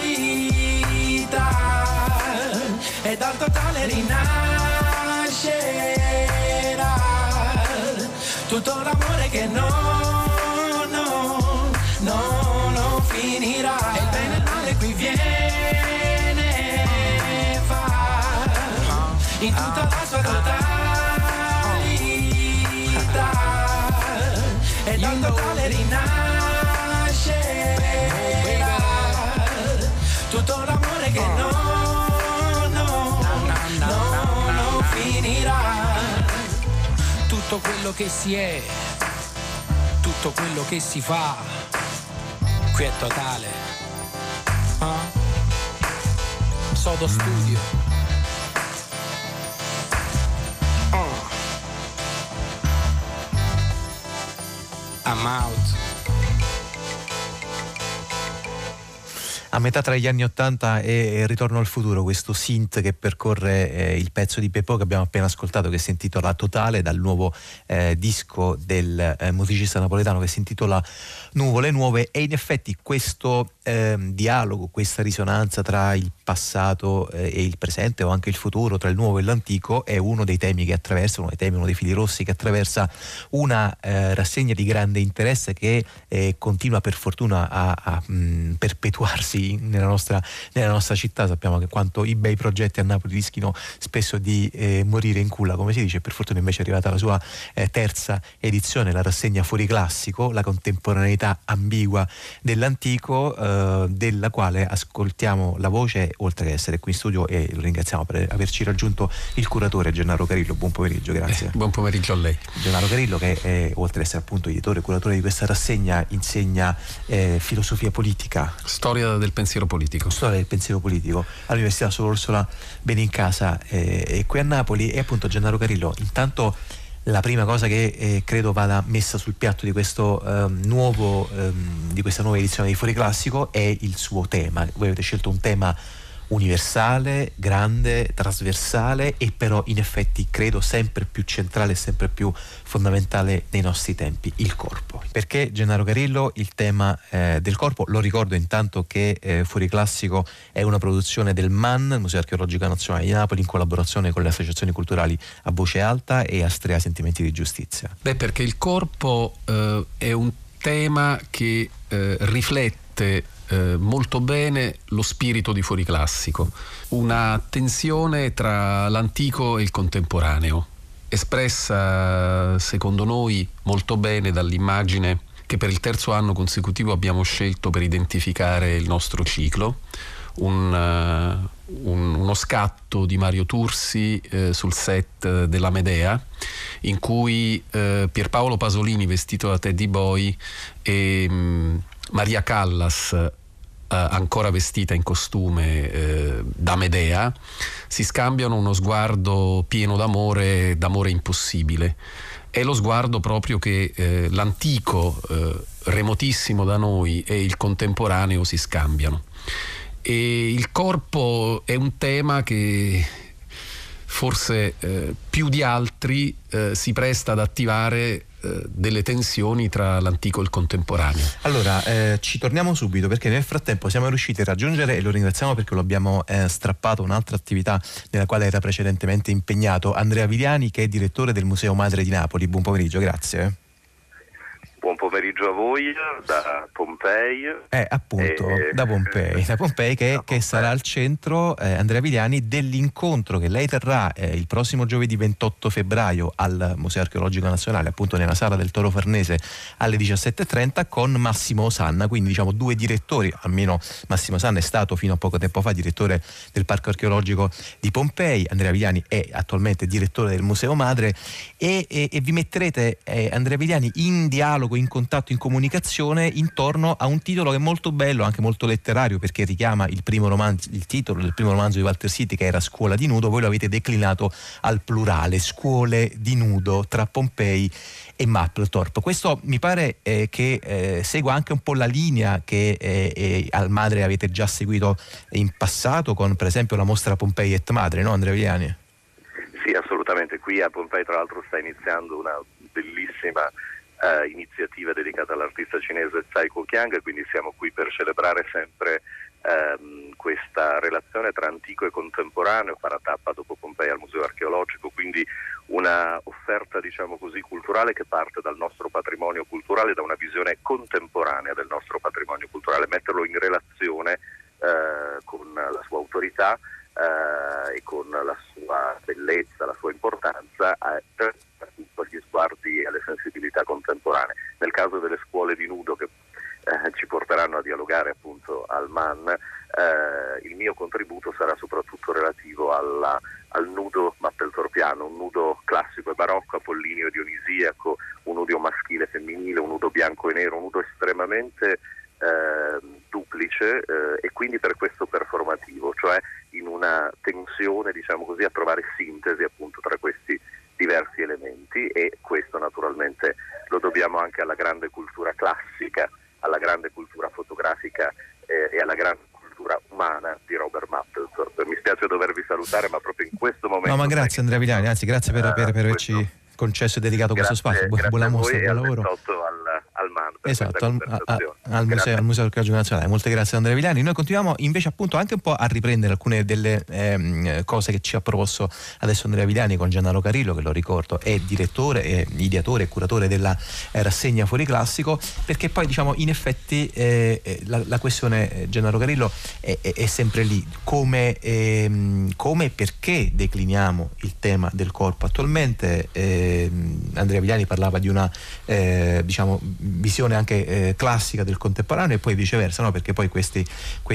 e dal totale rinascerà tutto l'amore che non finirà. E il bene e il male qui viene e va in tutta la sua totalità e dal totale rinascerà tutto l'amore che non finirà. Tutto quello che si è, tutto quello che si fa, qui è totale. Sodo Studio. I'm out. A metà tra gli anni 80 e Ritorno al futuro, questo synth che percorre il pezzo di Peppo che abbiamo appena ascoltato, che si intitola Totale, dal nuovo disco del musicista napoletano che si intitola Nuvole Nuove. E in effetti questo dialogo, questa risonanza tra il passato e il presente o anche il futuro, tra il nuovo e l'antico, è uno dei temi che attraversa, uno dei fili rossi che attraversa una rassegna di grande interesse che continua per fortuna a perpetuarsi nella nostra città. Sappiamo che quanto i bei progetti a Napoli rischino spesso di morire in culla, come si dice. Per fortuna invece è arrivata la sua terza edizione, la rassegna Fuori Classico, la contemporaneità ambigua dell'antico, della quale ascoltiamo la voce, oltre che essere qui in studio, e lo ringraziamo per averci raggiunto, il curatore Gennaro Carillo. Buon pomeriggio, grazie. Buon pomeriggio a lei. Gennaro Carillo, che oltre ad essere appunto editore e curatore di questa rassegna, insegna filosofia politica, storia del pensiero politico all'Università Sor Orsola Benincasa qui a Napoli. E appunto, Gennaro Carillo, intanto la prima cosa che credo vada messa sul piatto di questo di questa nuova edizione di Fuori Classico è il suo tema. Voi avete scelto un tema universale, grande, trasversale, e però in effetti credo sempre più centrale e sempre più fondamentale nei nostri tempi: il corpo. Perché, Gennaro Carillo, il tema del corpo? Lo ricordo intanto che Fuori Classico è una produzione del MAN, il Museo Archeologico Nazionale di Napoli, in collaborazione con le associazioni culturali A Voce Alta e Astrea Sentimenti di Giustizia. Perché il corpo è un tema che riflette molto bene lo spirito di Fuori Classico, una tensione tra l'antico e il contemporaneo, espressa secondo noi molto bene dall'immagine che per il terzo anno consecutivo abbiamo scelto per identificare il nostro ciclo, uno scatto di Mario Tursi sul set della Medea, in cui Pierpaolo Pasolini vestito da Teddy Boy e Maria Callas ancora vestita in costume da Medea si scambiano uno sguardo pieno d'amore impossibile. È lo sguardo proprio che l'antico remotissimo da noi e il contemporaneo si scambiano. E il corpo è un tema che forse più di altri si presta ad attivare delle tensioni tra l'antico e il contemporaneo. Allora, ci torniamo subito, perché nel frattempo siamo riusciti a raggiungere, e lo ringraziamo perché lo abbiamo strappato, un'altra attività nella quale era precedentemente impegnato, Andrea Viviani, che è direttore del Museo Madre di Napoli. Buon pomeriggio, grazie. Buon pomeriggio a voi da Pompei. Appunto, da Pompei che sarà al centro, Andrea Viviani, dell'incontro che lei terrà il prossimo giovedì 28 febbraio al Museo Archeologico Nazionale, appunto nella Sala del Toro Farnese alle 17:30, con Massimo Osanna, quindi diciamo due direttori, almeno Massimo Osanna è stato fino a poco tempo fa direttore del Parco Archeologico di Pompei, Andrea Viviani è attualmente direttore del Museo Madre e vi metterete, Andrea Viviani, in dialogo, in contatto, in comunicazione intorno a un titolo che è molto bello, anche molto letterario, perché richiama il titolo del primo romanzo di Walter City, che era Scuola di nudo. Voi lo avete declinato al plurale, scuole di nudo tra Pompei e Mapplethorpe. Questo mi pare che segua anche un po' la linea che al Madre avete già seguito in passato, con per esempio la mostra Pompei et Madre, no Andrea Viviani? Sì, assolutamente. Qui a Pompei tra l'altro sta iniziando una bellissima iniziativa dedicata all'artista cinese Tsai Kuo-Kiang, quindi siamo qui per celebrare sempre questa relazione tra antico e contemporaneo. Farà tappa dopo Pompei al Museo Archeologico, quindi una offerta, diciamo così, culturale che parte dal nostro patrimonio culturale, da una visione contemporanea del nostro patrimonio culturale, metterlo in relazione con la sua autorità e con la sua bellezza, la sua importanza, per gli sguardi e alle sensibilità contemporanee. Nel caso delle scuole di nudo che ci porteranno a dialogare appunto al MAN, il mio contributo sarà soprattutto relativo al nudo mapplethorpiano, un nudo classico e barocco, apollineo e dionisiaco, un nudo maschile e femminile, un nudo bianco e nero, un nudo estremamente duplice e quindi per questo performativo, cioè in una tensione, diciamo così, a trovare sintesi appunto tra questi diversi elementi, e questo naturalmente lo dobbiamo anche alla grande cultura classica, alla grande cultura fotografica e alla grande cultura umana di Robert Mapplethorpe. Mi spiace dovervi salutare, ma proprio in questo momento... No, ma grazie Andrea Viviani, anzi grazie per averci concesso e dedicato questo spazio. Buona mostra, buon lavoro. Al MAN, esatto, al Museo Archeologico Nazionale. Molte grazie Andrea Viviani. Noi continuiamo invece appunto anche un po' a riprendere alcune delle cose che ci ha proposto adesso Andrea Viviani con Gennaro Carillo, che lo ricordo è direttore, ideatore e curatore della rassegna Fuori Classico, perché poi diciamo in effetti la questione, Gennaro Carillo, è sempre lì, come e perché decliniamo il tema del corpo attualmente. Andrea Viviani parlava di una diciamo visione anche classica del contemporaneo, e poi viceversa, no? Perché poi questi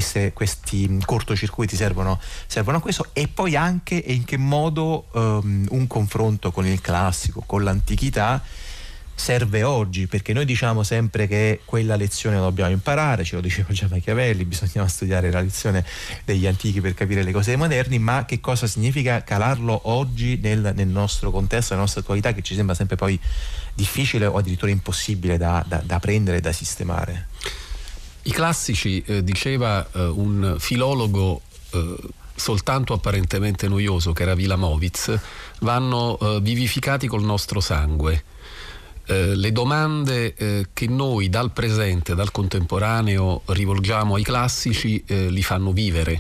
cortocircuiti servono a questo, e poi anche e in che modo un confronto con il classico, con l'antichità serve oggi, perché noi diciamo sempre che quella lezione la dobbiamo imparare, ce lo diceva già Machiavelli, bisognava studiare la lezione degli antichi per capire le cose dei moderni, ma che cosa significa calarlo oggi nel nostro contesto, nella nostra attualità, che ci sembra sempre poi difficile o addirittura impossibile da prendere e da sistemare. I classici, diceva un filologo soltanto apparentemente noioso che era Wilamowitz, vanno vivificati col nostro sangue. Le domande che noi dal presente, dal contemporaneo rivolgiamo ai classici li fanno vivere.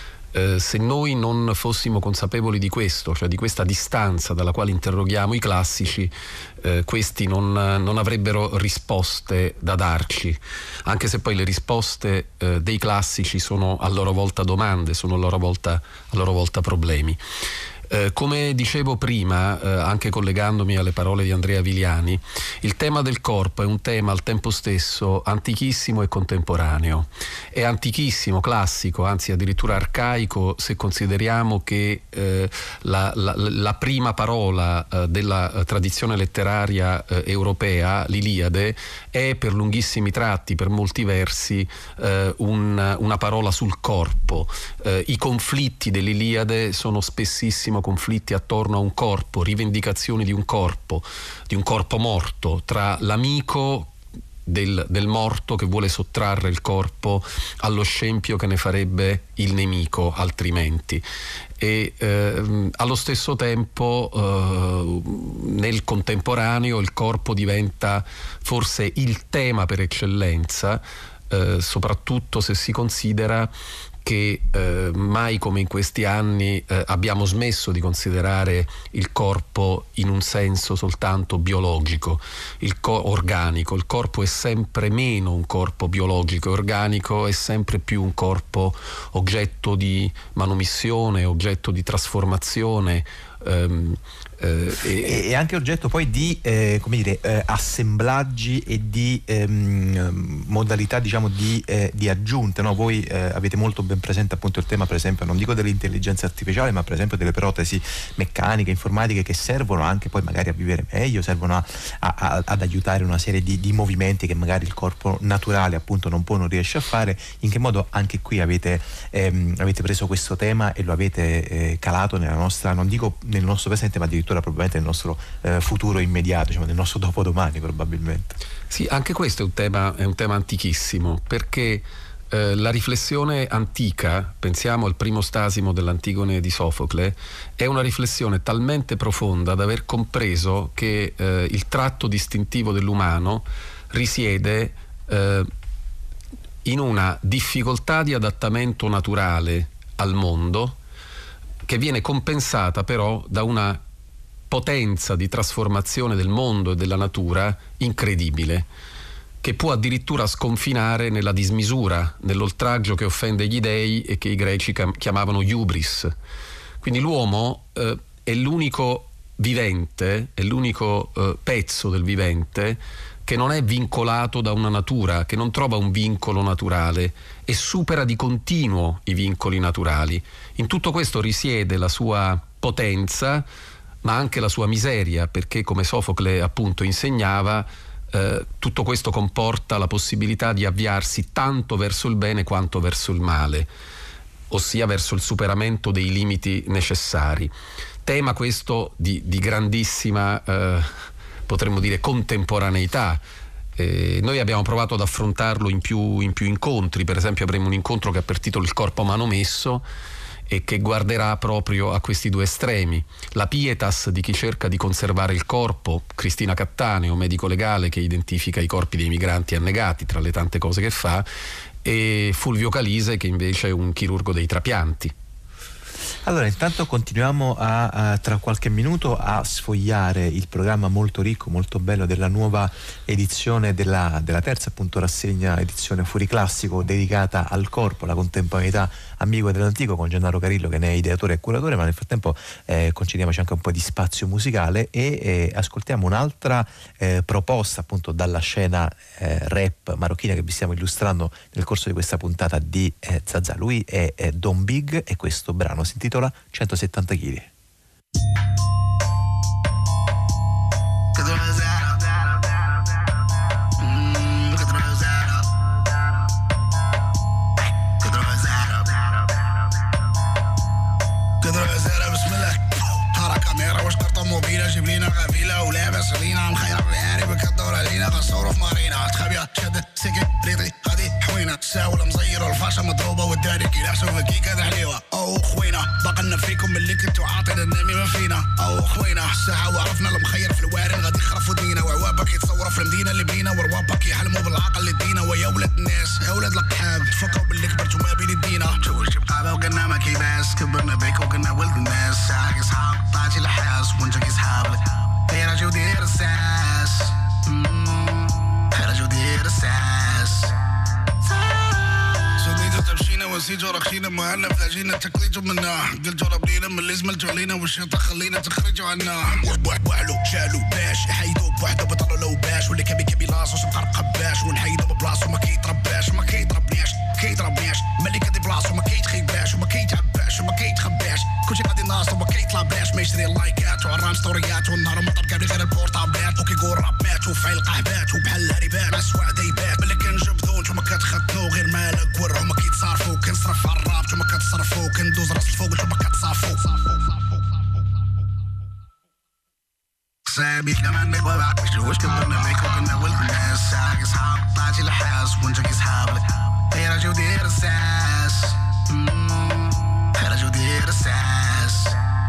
Se noi non fossimo consapevoli di questo, cioè di questa distanza dalla quale interroghiamo i classici, questi non avrebbero risposte da darci, anche se poi le risposte dei classici sono a loro volta domande, sono a loro volta problemi. Come dicevo prima, anche collegandomi alle parole di Andrea Viliani, il tema del corpo è un tema al tempo stesso antichissimo e contemporaneo. È antichissimo, classico, anzi addirittura arcaico, se consideriamo che la prima parola della tradizione letteraria europea, l'Iliade, è per lunghissimi tratti, per molti versi, una parola sul corpo. I conflitti dell'Iliade sono spessissimo conflitti attorno a un corpo, rivendicazioni di un corpo morto, tra l'amico del morto che vuole sottrarre il corpo allo scempio che ne farebbe il nemico altrimenti. E allo stesso tempo nel contemporaneo il corpo diventa forse il tema per eccellenza, soprattutto se si considera che mai come in questi anni abbiamo smesso di considerare il corpo in un senso soltanto biologico, organico. Il corpo è sempre meno un corpo biologico e organico, è sempre più un corpo oggetto di manomissione, oggetto di trasformazione, e anche oggetto poi di assemblaggi e di modalità, diciamo, di aggiunte, no? Voi avete molto ben presente appunto il tema, per esempio, non dico dell'intelligenza artificiale, ma per esempio delle protesi meccaniche, informatiche, che servono anche poi magari a vivere meglio, servono ad aiutare una serie di movimenti che magari il corpo naturale appunto non riesce a fare. In che modo anche qui avete preso questo tema e lo avete calato nella nostra, non dico nel nostro presente, ma addirittura probabilmente nel nostro futuro immediato, diciamo nel nostro dopodomani probabilmente. Sì, anche questo è un tema antichissimo, perché la riflessione antica, pensiamo al primo Stasimo dell'Antigone di Sofocle, è una riflessione talmente profonda da aver compreso che il tratto distintivo dell'umano risiede in una difficoltà di adattamento naturale al mondo, che viene compensata però da una potenza di trasformazione del mondo e della natura incredibile, che può addirittura sconfinare nella dismisura, nell'oltraggio che offende gli dei e che i greci chiamavano hubris. Quindi l'uomo è l'unico vivente, è l'unico pezzo del vivente che non è vincolato da una natura, che non trova un vincolo naturale e supera di continuo i vincoli naturali. In tutto questo risiede la sua potenza, ma anche la sua miseria, perché come Sofocle appunto insegnava, tutto questo comporta la possibilità di avviarsi tanto verso il bene quanto verso il male, ossia verso il superamento dei limiti necessari. Tema questo di grandissima, potremmo dire, contemporaneità. Noi abbiamo provato ad affrontarlo in più incontri. Per esempio avremo un incontro che ha per titolo Il corpo manomesso e che guarderà proprio a questi due estremi: la pietas di chi cerca di conservare il corpo, Cristina Cattaneo, medico legale che identifica i corpi dei migranti annegati tra le tante cose che fa, e Fulvio Calise che invece è un chirurgo dei trapianti. Allora, intanto continuiamo tra qualche minuto a sfogliare il programma molto ricco, molto bello della nuova edizione della terza appunto rassegna edizione Fuori Classico, dedicata al corpo, alla contemporaneità ambigua dell'antico, con Gennaro Carillo che ne è ideatore e curatore. Ma nel frattempo concediamoci anche un po' di spazio musicale e ascoltiamo un'altra proposta appunto dalla scena rap marocchina che vi stiamo illustrando nel corso di questa puntata di Zazà. Lui è Don Big e questo brano si intitola 170 kg. موبيلة جيب لينا غفيلة ولابس علينا مخير الرياري بكدور علينا غنصورو في مارينا تخابيا شدت سكت ريطي غادي حوينة ساول مزير والفاشة مضروبة والداري كيلاسو فكي كذا حليوة او خوينا بقلنا فيكم اللي كنتو عاطين النامي ما فينا او خوينا ساعة وعرفنا المخير في الوارن غادي يخرفوا دينا وعوابك يتصوروا في المدينة اللي بينا وروابك يحلموا بالعقل اللي دينا ويا ولاد الناس يا ولاد القحاب تفكروا باللي كبرتوا ما بين الدينا جوج بقابة وقلنا ما كيباس كبرنا بيك وقلنا ولد الناس ساعة صحاب طلعتي لحاس وانت صحابك دير جو دير الساس دير جو دير الساس سوديتو تمشينا نسي جورا خينا مهنا فلاجينا تكليجوا منا قل جورا بنينا من لازم الجولينا والشيطة خلينا تخرجوا عنا وحلو شالو باش يحيدوا بوحدة بطلوا لو باش واللي كبي لاصوص مقرب قباش ونحيدوا ببلاصو ما كيترباش ما كيتربنيش ملي كدي بلاصو ما كيتخيباش وما كيتعباش وما كيتخباش كلشي غادي ناصر وما كيطلع بلاش ما يشري اللايكات وعرام ستوريات والنهار مطر قابلي غير البورطابلات وكيقول راب مات وفعل قهبات وبحال الهريبات مع السواع دايبات ملي كنجبدو نتوما كتخدو غير مالك ورا وما كيتصارفو كنصرف على الراب نتوما كتصرفو كندوز راس الفوق نتوما كتصافو سامي كمان نبغى واش كبرنا بيك وكنا ولد الناس ساق اصحاب طلعتي الحاس ونجاك اصحابك هي رجو دير الساس هي رجو دير الساس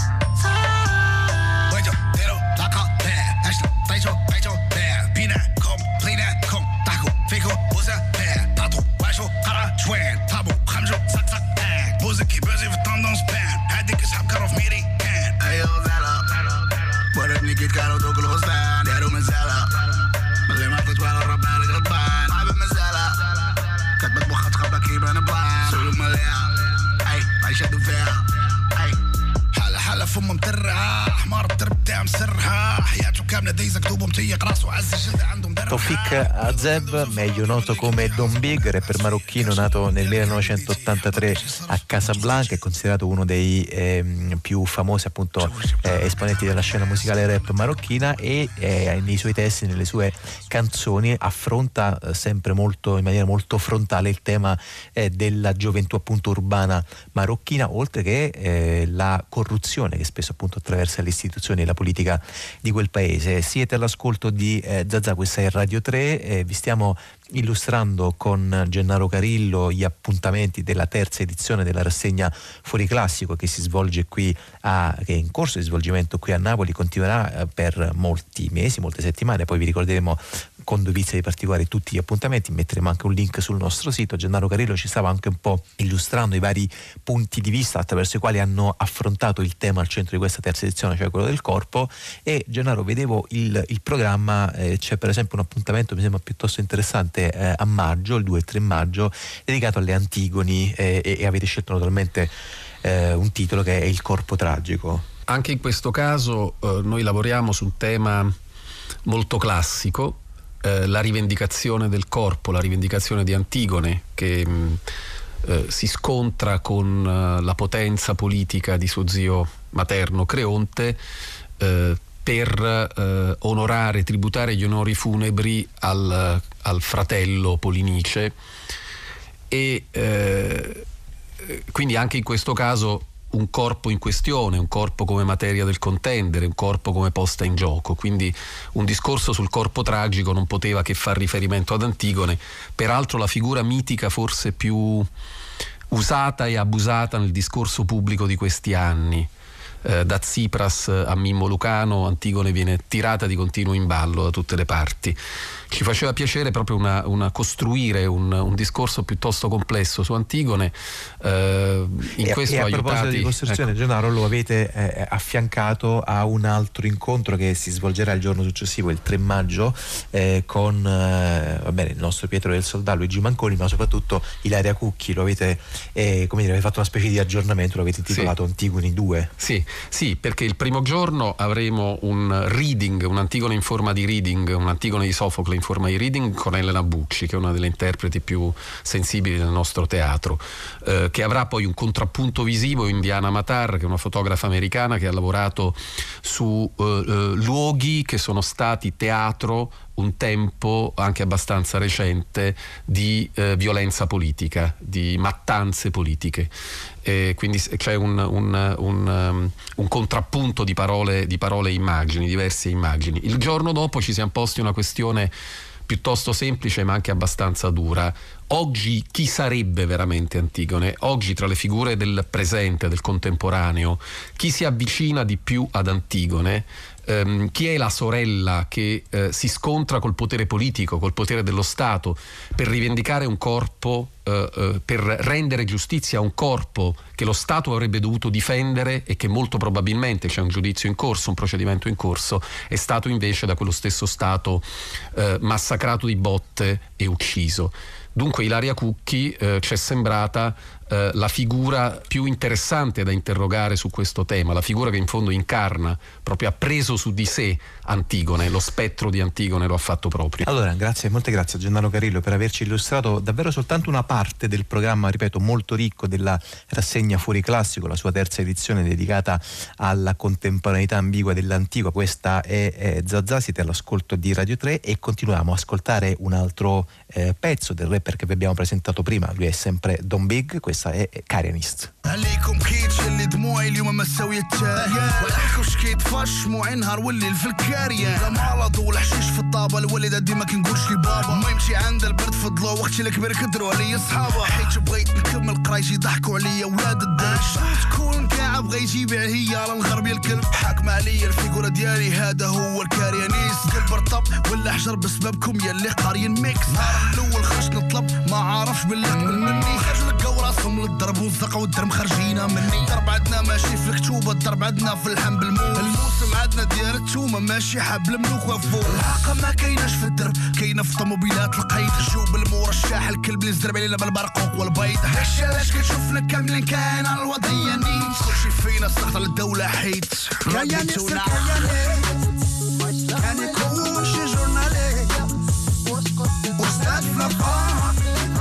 ويجو ديرو لاقا بيه اشتو طيشو بيجو بيه بيناكم بليناكم تحكو فيكو بوزا بيه تعطو واشو قرا شوين طابو خمجو زق بيه بوزكي بوزي في التندونس بان هاديك اسحب كارو في ميري كان ايو زالا وربني كيت كارو دوك الغصبان دارو مزالة ملي ما تتوالى الربان غضبان عبد مزالة كتبت بوخة تخبى كيبان بلان سولو مليا اي عيشادو فيها اي حالة فم مترعة حمار الترب تاع مسرها حياته كاملة دايزة كتوبه متيق راسه عز الجلد عندهم درها Tawfik Azeb, meglio noto come Don Big, rapper marocchino nato nel 1983 a Casablanca, è considerato uno dei più famosi appunto esponenti della scena musicale rap marocchina e nei suoi testi, nelle sue canzoni affronta sempre molto, in maniera molto frontale il tema della gioventù appunto urbana marocchina, oltre che la corruzione che spesso appunto attraversa le istituzioni e la politica di quel paese. Siete all'ascolto di Zazà, questa è Radio 3, vi stiamo illustrando con Gennaro Carillo gli appuntamenti della terza edizione della rassegna Fuori Classico che si svolge qui che è in corso di svolgimento qui a Napoli, continuerà per molti mesi, molte settimane, poi vi ricorderemo con dovizia di particolari tutti gli appuntamenti, metteremo anche un link sul nostro sito. Gennaro Carillo ci stava anche un po' illustrando i vari punti di vista attraverso i quali hanno affrontato il tema al centro di questa terza edizione, cioè quello del corpo. E Gennaro, vedevo il programma, c'è per esempio un appuntamento mi sembra piuttosto interessante a maggio, il 2 e 3 maggio, dedicato alle Antigoni e avete scelto naturalmente un titolo che è Il corpo tragico. Anche in questo caso noi lavoriamo su un tema molto classico, la rivendicazione del corpo, la rivendicazione di Antigone, che si scontra con la potenza politica di suo zio materno Creonte per onorare, tributare gli onori funebri al fratello Polinice e quindi anche in questo caso un corpo in questione, un corpo come materia del contendere, un corpo come posta in gioco, quindi un discorso sul corpo tragico non poteva che far riferimento ad Antigone, peraltro la figura mitica forse più usata e abusata nel discorso pubblico di questi anni. Da Tsipras a Mimmo Lucano Antigone viene tirata di continuo in ballo da tutte le parti. Ci faceva piacere proprio costruire un discorso piuttosto complesso su Antigone. In questo e a aiutati, proposito di costruzione, ecco. Gennaro, lo avete affiancato a un altro incontro che si svolgerà il giorno successivo, il 3 maggio, con il nostro Pietro del Soldà, Luigi Manconi, ma soprattutto Ilaria Cucchi. Lo avete avete fatto una specie di aggiornamento, lo avete intitolato Antigoni 2. Sì, perché il primo giorno avremo un reading, un Antigone in forma di reading, un Antigone di Sofocle in forma di reading con Elena Bucci, che è una delle interpreti più sensibili del nostro teatro, che avrà poi un contrappunto visivo in Diana Matar, che è una fotografa americana che ha lavorato su luoghi che sono stati teatro un tempo anche abbastanza recente di violenza politica, di mattanze politiche. Quindi c'è un contrappunto di parole e immagini, diverse immagini. Il giorno dopo ci siamo posti una questione piuttosto semplice ma anche abbastanza dura. Oggi chi sarebbe veramente Antigone? Oggi tra le figure del presente, del contemporaneo, chi si avvicina di più ad Antigone? Chi è la sorella che si scontra col potere politico, col potere dello Stato, per rivendicare un corpo, per rendere giustizia a un corpo che lo Stato avrebbe dovuto difendere e che molto probabilmente, c'è un giudizio in corso, un procedimento in corso, è stato invece da quello stesso Stato massacrato di botte e ucciso. Dunque Ilaria Cucchi ci è sembrata la figura più interessante da interrogare su questo tema, la figura che in fondo incarna, proprio ha preso su di sé Antigone, lo spettro di Antigone lo ha fatto proprio. Allora, molte grazie a Gennaro Carillo per averci illustrato davvero soltanto una parte del programma, ripeto, molto ricco della rassegna Fuori Classico, la sua terza edizione dedicata alla contemporaneità ambigua dell'antico. Questa è Zazà, siete all'ascolto di Radio 3 e continuiamo a ascoltare un altro pezzo del rapper che vi abbiamo presentato prima, lui è sempre Don Big, questa è Karianist. عليكم كيتش اللي دموعي اليوم ما ساوية التالية وعليكم شكيت فاش شموعي نهار والليل في الكارية لا مرض ولا حشيش في الطابة الوالدة ديما كنقولش لي بابا ما يمشي عند البرد فضلو وقتي الكبير كدروا عليا صحابة حيت بغيت نكمل قرايتي ضحكوا عليا ولاد الداش تكون كاع بغا يجيب هي على الغرب يا الكلب حاكم عليا الفيغورة ديالي هذا هو الكاريانيست قلب رطب ولا حجر بسببكم يا اللي قاريين ميكس نهار الاول خرجت نطلب ما عارفش باللي قبل مني خرج لقاو راسهم للضرب والزقه والدرم خرجينا مني الضرب عندنا ماشي في الكتوبه الضرب عندنا في اللحم بالموس الموسم عندنا ديال التومه ماشي حبل ملوك وفوق الحاقه ما كايناش في الدرب كاينه في الطوموبيلات القيد جوب المرشح الكلب اللي زرب علينا بالبرقوق والبيض داكشي علاش كتشوفنا كاملين كاين على الوضعيه نيت كلشي فينا سخط على الدوله حيت كان يكون شي جورناليست استاذ في الافراح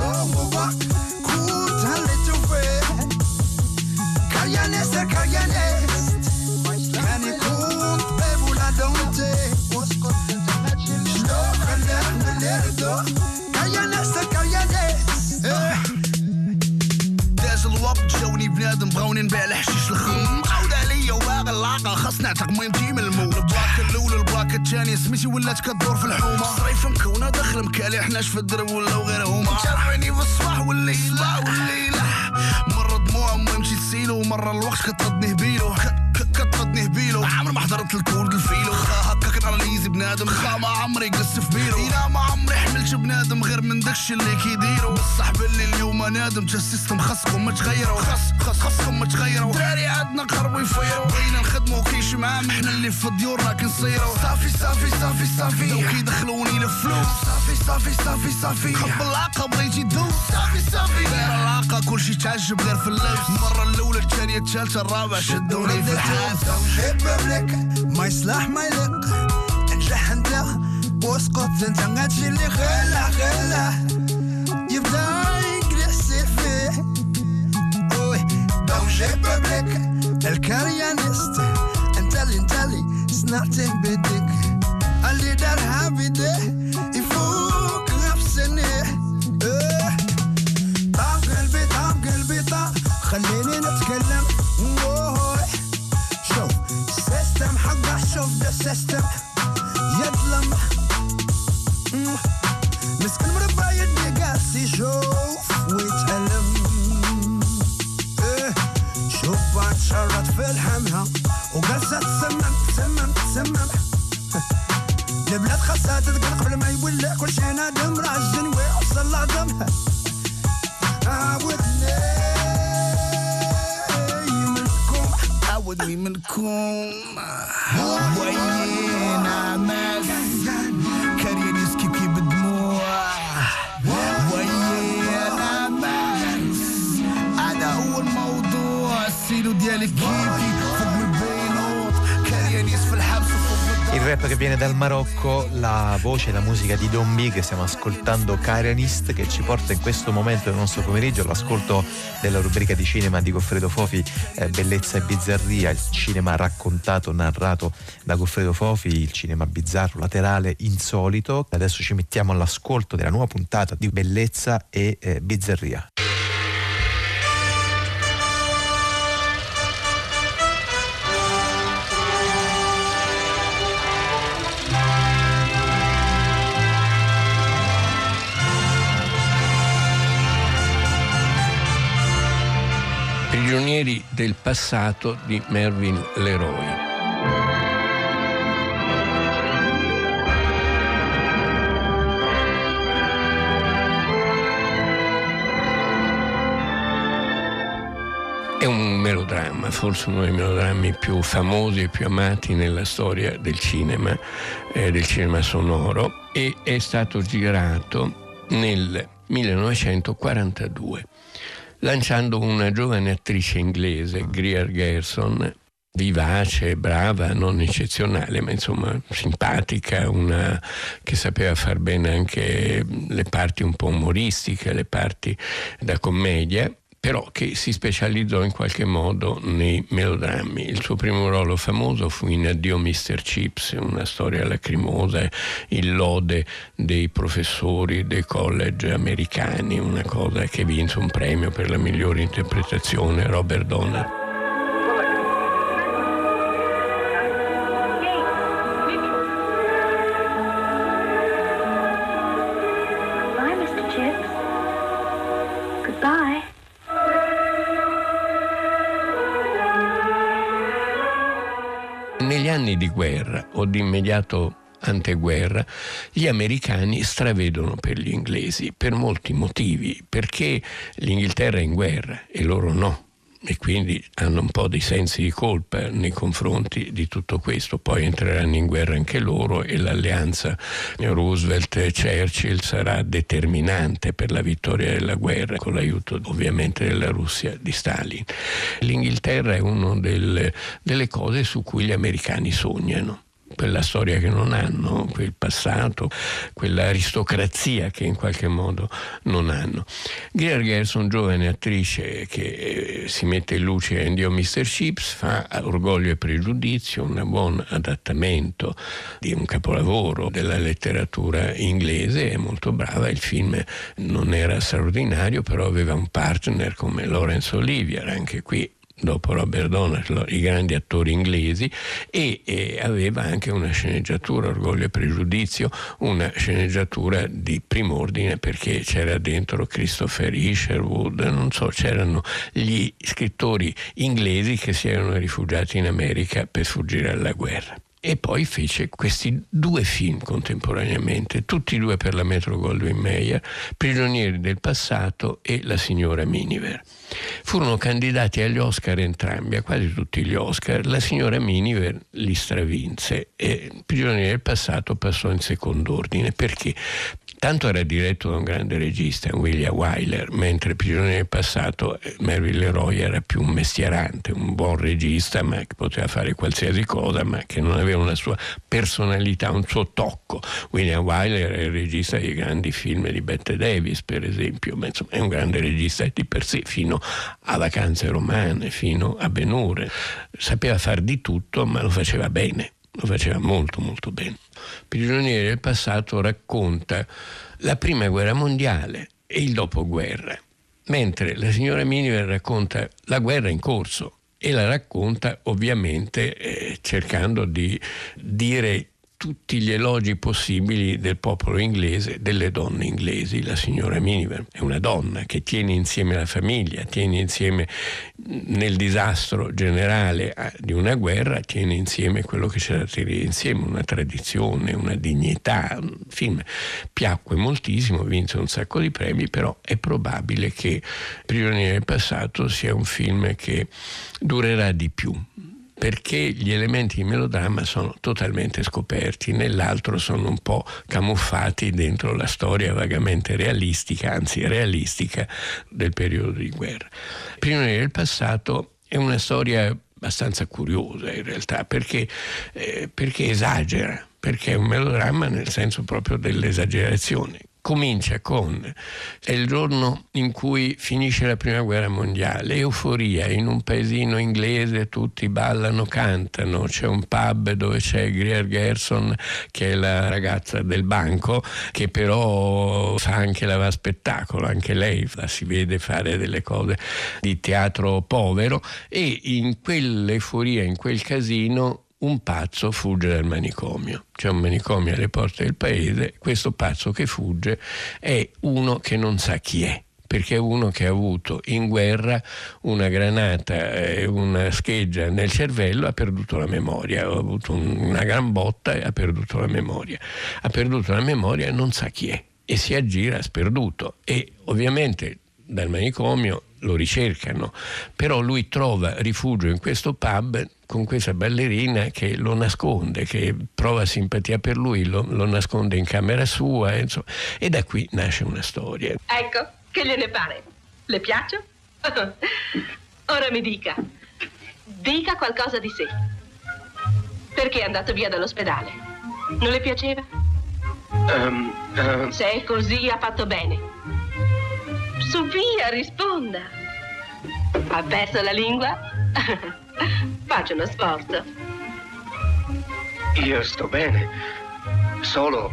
كنت هليتو فيه كاريانيست كان يكون طبيب ولا دونتي شلون خلاه من الردو كاريانيست داز الوقت جاوني بنادم بغاوني نبيع الحشيش الخم عاود عليا وباغي العاقل خاص نعتق مهمتي من المول البلاكه الاولى البلاكه الثانيه سميتي ولات كدور في الحومه صريف مكونه داخل مكالي حناش في الدرب ولاو غير هما جرحوني في الصباح والليله مره دموع مهمتي تسيلو ومره الوقت كتردني هبيلو كتردني هبيلو عمري ما حضرت الكورد الفيلو هكا كناليزي بنادم ما عمري قص في بيرو الا ما عمري حملت بنادم غير من داكشي اللي كيديرو الصاحب اللي اليوم نادم تا السيستم خاصكم ما تغيروا خاصكم ما تغيروا دراري عندنا قربوا يفيروا بغينا نخدموا كيش معاهم حنا اللي في ديورنا كنصيروا صافي لو كيدخلوني لفلوس صافي حب العاقه بغيتي دوز صافي غير العاقه كلشي تعجب غير في اللبس المره الاولى الثانيه الثالثه الرابعه شدوني في الحاس جيب بابليك ما يصلح ما يلق انجح انت واسقط انت غاتشي اللي خلا يبدا يجلس فيه دونجي بابليك الكاريانيست انت اللي صنعته بيدك اللي دارها بيديه يفوق نفسني طاب قلبي خليني نتكلم شوف السيستم حقه شوف ده السيستم يظلم مسكن مربع يدي قاس يشوف ويتألم شوف بعد شرط في الحمها وقاسة تسمم البلاد خاصها تذكر قبل ما يولع كل شي نادم راجن ويوصل لعظمها عودني منكم وين عماس كاريانيس كيف بالدموع وين عماس هذا هو الموضوع السيلو ديالك كيفي فوق من بينوت كاريانيس في الحبس Il rap che viene dal Marocco, la voce e la musica di Don B, che stiamo ascoltando, Karianist, che ci porta in questo momento del nostro pomeriggio all'ascolto della rubrica di cinema di Goffredo Fofi, Bellezza e bizzarria, il cinema raccontato, narrato da Goffredo Fofi, il cinema bizzarro, laterale, insolito. Adesso ci mettiamo all'ascolto della nuova puntata di Bellezza e bizzarria. Prigionieri del passato di Mervyn LeRoy. È un melodramma, forse uno dei melodrammi più famosi e più amati nella storia del cinema sonoro, e è stato girato nel 1942. lanciando una giovane attrice inglese, Greer Garson, vivace, brava, non eccezionale, ma insomma simpatica, una che sapeva far bene anche le parti un po' umoristiche, le parti da commedia, però che si specializzò in qualche modo nei melodrammi. Il suo primo ruolo famoso fu in Addio Mr. Chips, una storia lacrimosa, il lode dei professori dei college americani, una cosa che vinse un premio per la migliore interpretazione, Robert Donner. Negli anni di guerra o di immediato anteguerra, gli americani stravedono per gli inglesi per molti motivi, perché l'Inghilterra è in guerra e loro no, e quindi hanno un po' di sensi di colpa nei confronti di tutto questo. Poi entreranno in guerra anche loro e l'alleanza Roosevelt-Churchill sarà determinante per la vittoria della guerra, con l'aiuto ovviamente della Russia di Stalin. L'Inghilterra è una delle cose su cui gli americani sognano. Quella storia che non hanno, quel passato, quell'aristocrazia che in qualche modo non hanno. Greer Garson, giovane attrice che si mette in luce in Dio Mr. Chips, fa Orgoglio e Pregiudizio, un buon adattamento di un capolavoro della letteratura inglese, è molto brava. Il film non era straordinario, però aveva un partner come Laurence Olivier, anche qui dopo Robert Donner, i grandi attori inglesi, e aveva anche una sceneggiatura, Orgoglio e Pregiudizio, una sceneggiatura di prim'ordine, perché c'era dentro Christopher Isherwood, non so, c'erano gli scrittori inglesi che si erano rifugiati in America per sfuggire alla guerra. E poi fece questi due film contemporaneamente, tutti e due per la Metro-Goldwyn-Mayer, Prigionieri del passato e La signora Miniver. Furono candidati agli Oscar entrambi, a quasi tutti gli Oscar. La signora Miniver li stravinse e Prigionieri del passato passò in secondo ordine. Perché? Tanto era diretto da un grande regista, William Wyler, mentre Prigionieri del passato Melville Leroy era più un mestierante, un buon regista, ma che poteva fare qualsiasi cosa, ma che non aveva una sua personalità, un suo tocco. William Wyler è il regista dei grandi film di Bette Davis, per esempio, ma insomma è un grande regista di per sé, fino a Vacanze romane, fino a Ben-Hur. Sapeva far di tutto, ma lo faceva bene. Lo faceva molto molto bene. Prigionieri del passato racconta la prima guerra mondiale e il dopoguerra, mentre La signora Miniver racconta la guerra in corso e la racconta ovviamente cercando di dire tutti gli elogi possibili del popolo inglese, delle donne inglesi. La signora Miniver è una donna che tiene insieme la famiglia, tiene insieme nel disastro generale di una guerra, tiene insieme quello che c'è da tenere insieme, una tradizione, una dignità. Un film piacque moltissimo, vinse un sacco di premi, però è probabile che Prigionieri del passato sia un film che durerà di più, perché gli elementi di melodramma sono totalmente scoperti, nell'altro sono un po' camuffati dentro la storia vagamente realistica, anzi realistica, del periodo di guerra. Prigionieri del passato è una storia abbastanza curiosa in realtà, perché esagera, perché è un melodramma nel senso proprio dell'esagerazione. Comincia con è il giorno in cui finisce la prima guerra mondiale, euforia in un paesino inglese, tutti ballano, cantano, c'è un pub dove c'è Greer Garson che è la ragazza del banco, che però fa anche spettacolo, anche lei la si vede fare delle cose di teatro povero, e in quell'euforia, in quel casino, un pazzo fugge dal manicomio. C'è un manicomio alle porte del paese, questo pazzo che fugge è uno che non sa chi è, perché è uno che ha avuto in guerra una granata e una scheggia nel cervello, ha perduto la memoria, ha avuto una gran botta e ha perduto la memoria. Ha perduto la memoria e non sa chi è e si aggira sperduto, e ovviamente dal manicomio lo ricercano, però lui trova rifugio in questo pub con questa ballerina che lo nasconde, che prova simpatia per lui, lo nasconde in camera sua, insomma, e da qui nasce una storia. Ecco, che gliene pare? Le piaccio? Ora mi dica qualcosa di sé. Perché è andato via dall'ospedale? Non le piaceva? Se è così, ha fatto bene. Su, via, risponda. Ha perso la lingua? Faccia uno sforzo. Io sto bene. Solo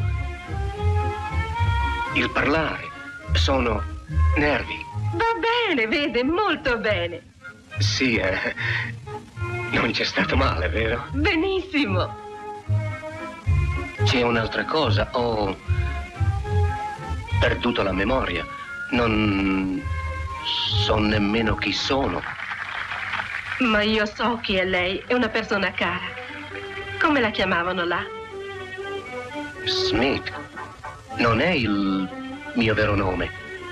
il parlare. Sono nervi. Va bene, vede, molto bene. Sì, non c'è stato male, vero? Benissimo. C'è un'altra cosa. Ho perduto la memoria. Non so nemmeno chi sono. Ma io so chi è lei. È una persona cara. Come la chiamavano là? Smith. Non è il mio vero nome.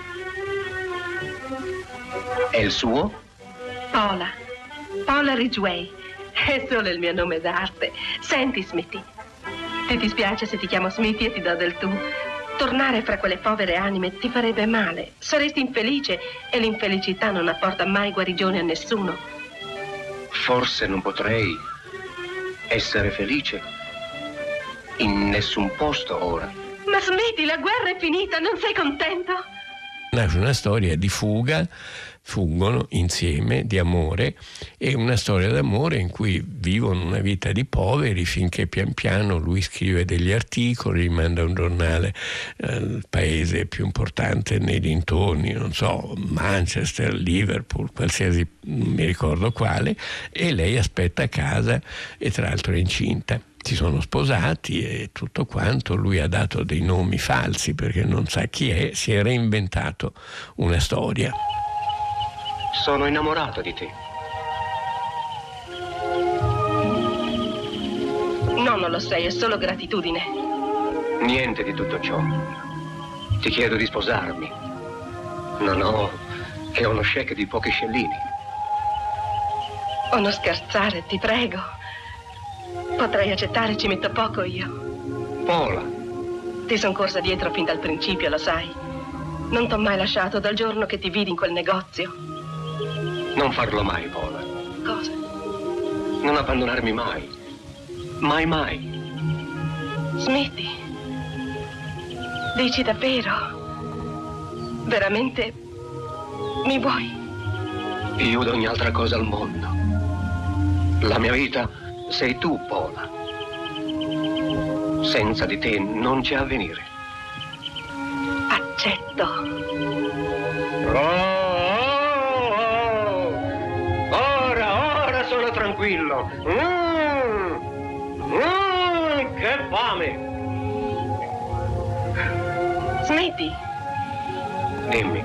È il suo? Paula Ridgway. È solo il mio nome d'arte. Senti, Smithy, ti dispiace se ti chiamo Smithy e ti do del tu? Tornare fra quelle povere anime ti farebbe male. Saresti infelice e l'infelicità non apporta mai guarigione a nessuno. Forse non potrei essere felice in nessun posto ora. Ma Smithy, la guerra è finita, non sei contento? Nasce una storia di fuga, fuggono insieme, di amore, e una storia d'amore in cui vivono una vita di poveri finché pian piano lui scrive degli articoli, manda un giornale al paese più importante nei dintorni, non so, Manchester, Liverpool, qualsiasi, non mi ricordo quale, e lei aspetta a casa e tra l'altro è incinta. Si sono sposati e tutto quanto, lui ha dato dei nomi falsi perché non sa chi è, si è reinventato una storia. Sono innamorato di te. No, non lo sei, è solo gratitudine. Niente di tutto ciò. Ti chiedo di sposarmi. Non ho che uno cheque di pochi scellini. Oh, non scherzare, ti prego. Potrei accettare, ci metto poco io. Paula. Ti son corsa dietro fin dal principio, lo sai. Non t'ho mai lasciato dal giorno che ti vidi in quel negozio. Non farlo mai, Paula. Cosa? Non abbandonarmi mai. Mai, mai. Smetti. Dici davvero? Veramente mi vuoi? Più di ogni altra cosa al mondo. La mia vita sei tu, Paula. Senza di te non c'è avvenire. Accetto. Ora sono tranquillo. Che fame. Smetti. Dimmi.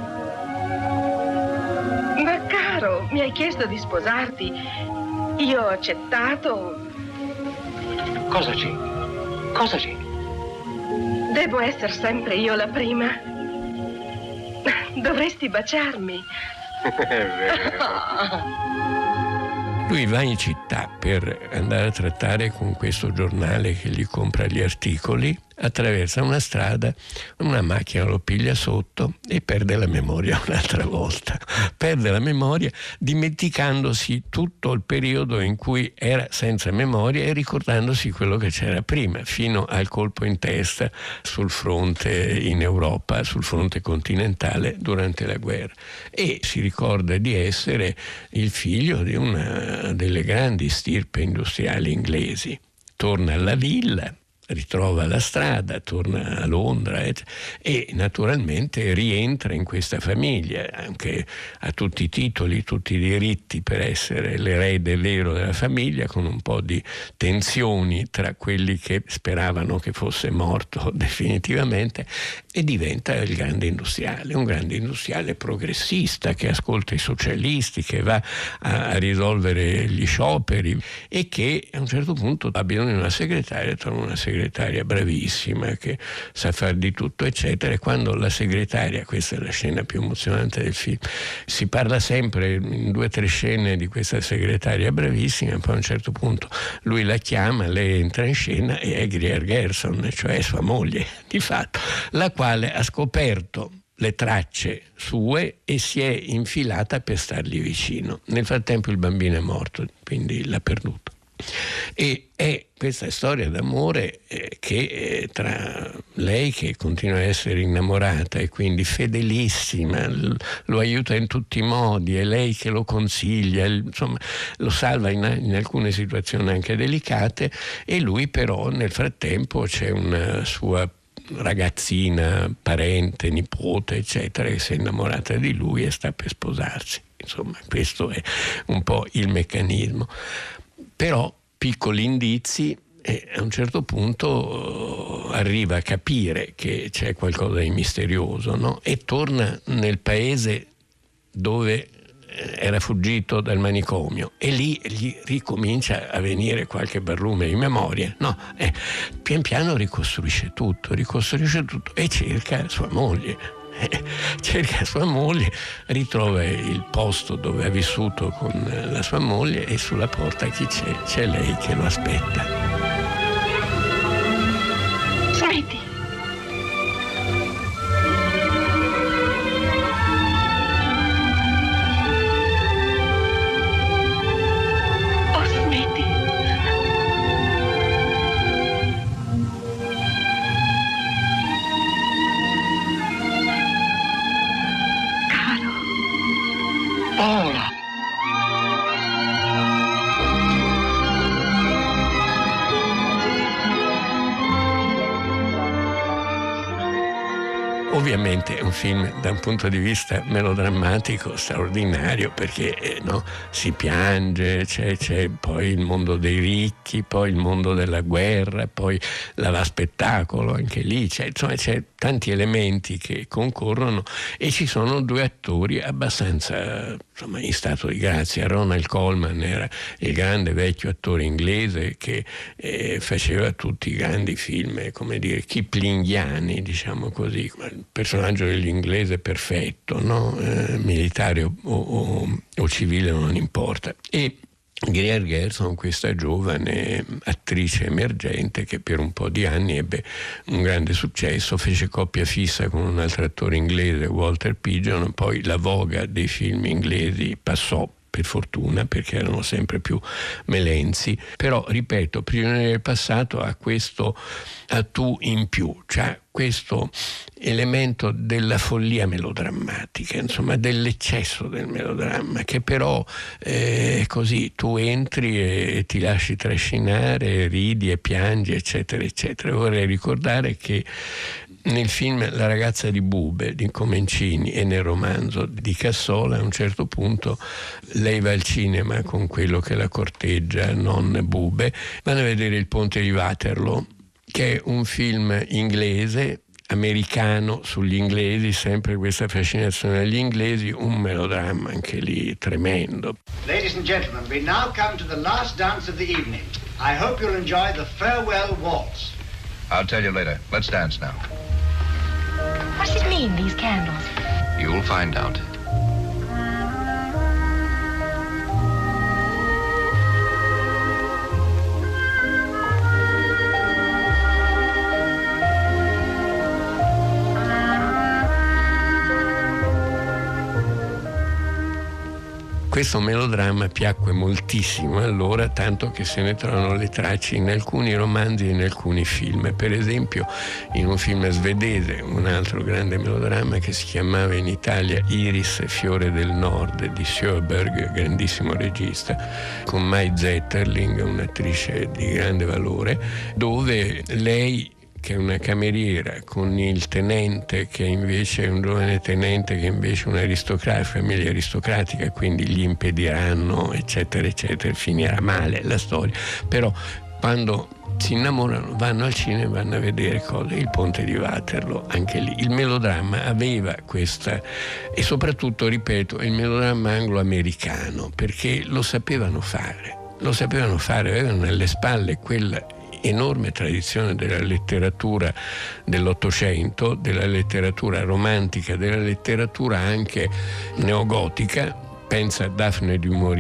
Ma caro, mi hai chiesto di sposarti. Io ho accettato. Cosa c'è? Cosa c'è? Devo essere sempre io la prima? Dovresti baciarmi. Lui va in città per andare a trattare con questo giornale che gli compra gli articoli, attraversa una strada, una macchina lo piglia sotto e perde la memoria un'altra volta. Perde la memoria dimenticandosi tutto il periodo in cui era senza memoria e ricordandosi quello che c'era prima, fino al colpo in testa sul fronte in Europa, sul fronte continentale durante la guerra. E si ricorda di essere il figlio di una delle grandi stirpe industriali inglesi. Torna alla villa, ritrova la strada, torna a Londra e naturalmente rientra in questa famiglia, anche a tutti i titoli, tutti i diritti per essere l'erede vero della famiglia, con un po' di tensioni tra quelli che speravano che fosse morto definitivamente, e diventa il grande industriale, un grande industriale progressista che ascolta i socialisti, che va a risolvere gli scioperi e che a un certo punto ha bisogno di una segretaria, trova una segretaria bravissima che sa far di tutto eccetera, e quando la segretaria, questa è la scena più emozionante del film, si parla sempre in 2 o 3 scene di questa segretaria bravissima, poi a un certo punto lui la chiama, lei entra in scena e è Greer Garson, cioè sua moglie di fatto, la quale ha scoperto le tracce sue e si è infilata per stargli vicino. Nel frattempo il bambino è morto, quindi l'ha perduto. E è questa storia d'amore che tra lei, che continua a essere innamorata e quindi fedelissima, lo aiuta in tutti i modi, è lei che lo consiglia, insomma lo salva in alcune situazioni anche delicate, e lui però nel frattempo c'è una sua ragazzina, parente, nipote, eccetera, che si è innamorata di lui e sta per sposarsi. Insomma, questo è un po' il meccanismo. Però piccoli indizi, e a un certo punto arriva a capire che c'è qualcosa di misterioso, no? E torna nel paese dove era fuggito dal manicomio, e lì gli ricomincia a venire qualche barlume di memoria, no? Pian piano ricostruisce tutto e cerca sua moglie. Cerca sua moglie, ritrova il posto dove ha vissuto con la sua moglie, e sulla porta chi c'è? C'è lei che lo aspetta. Smetti! Paola! Ovviamente è un film da un punto di vista melodrammatico straordinario, perché no, si piange, c'è poi il mondo dei ricchi, poi il mondo della guerra, poi la spettacolo anche lì, c'è tanti elementi che concorrono, e ci sono due attori abbastanza in stato di grazia. Ronald Colman era il grande vecchio attore inglese che faceva tutti i grandi film, come dire, kiplinghiani, diciamo così, il personaggio dell'inglese perfetto, no? Militare o civile non importa. E Greer Garson, questa giovane attrice emergente che per un po' di anni ebbe un grande successo, fece coppia fissa con un altro attore inglese, Walter Pidgeon, poi la voga dei film inglesi passò, per fortuna, perché erano sempre più melenzi. Però, ripeto, Prigionieri del passato ha questo tu in più, cioè questo elemento della follia melodrammatica, insomma dell'eccesso del melodramma, che però così tu entri e ti lasci trascinare, ridi e piangi, eccetera eccetera. Vorrei ricordare che nel film La ragazza di Bube di Comencini e nel romanzo di Cassola, a un certo punto lei va al cinema con quello che la corteggia, non Bube, vanno a vedere Il ponte di Waterloo, che è un film inglese, americano, sugli inglesi, sempre questa fascinazione agli inglesi, un melodramma anche lì tremendo. Ladies and gentlemen, we now come to the last dance of the evening. I hope you'll enjoy the farewell waltz. I'll tell you later. Let's dance now. What does it mean, these candles? You'll find out. Questo melodramma piacque moltissimo allora, tanto che se ne trovano le tracce in alcuni romanzi e in alcuni film. Per esempio in un film svedese, un altro grande melodramma che si chiamava in Italia Iris Fiore del Nord di Sjöberg, grandissimo regista, con Mai Zetterling, un'attrice di grande valore, dove lei, che è una cameriera, con il tenente che invece è un giovane tenente che invece è un'aristocratica, famiglia aristocratica, quindi gli impediranno, eccetera eccetera, finirà male la storia. Però quando si innamorano vanno al cinema, vanno a vedere cose, Il ponte di Waterloo, anche lì il melodramma aveva questa, e soprattutto, ripeto, il melodramma anglo-americano, perché lo sapevano fare, avevano alle spalle quella enorme tradizione della letteratura dell'Ottocento, della letteratura romantica, della letteratura anche neogotica. Pensa a Daphne du Maurier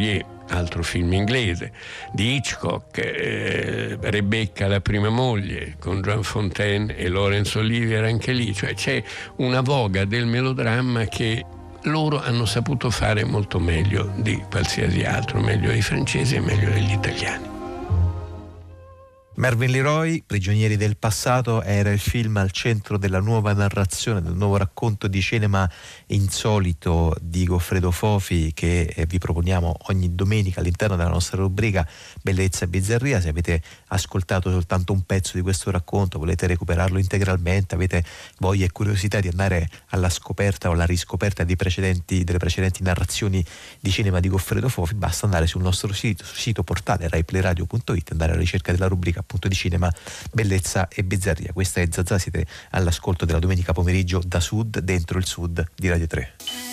altro film inglese, di Hitchcock, Rebecca la prima moglie con Joan Fontaine e Laurence Olivier anche lì, cioè c'è una voga del melodramma che loro hanno saputo fare molto meglio di qualsiasi altro, meglio dei francesi e meglio degli italiani. Mervyn LeRoy, Prigionieri del passato, era il film al centro della nuova narrazione, del nuovo racconto di cinema insolito di Goffredo Fofi che vi proponiamo ogni domenica all'interno della nostra rubrica Bellezza e Bizzarria. Se avete ascoltato soltanto un pezzo di questo racconto, volete recuperarlo integralmente, avete voglia e curiosità di andare alla scoperta o alla riscoperta delle precedenti narrazioni di cinema di Goffredo Fofi, basta andare sul nostro sito portale raiplayradio.it, andare alla ricerca della rubrica appunto di cinema Bellezza e Bizzarria. Questa è Zazà, siete all'ascolto della domenica pomeriggio da Sud, dentro il Sud di Radio 3.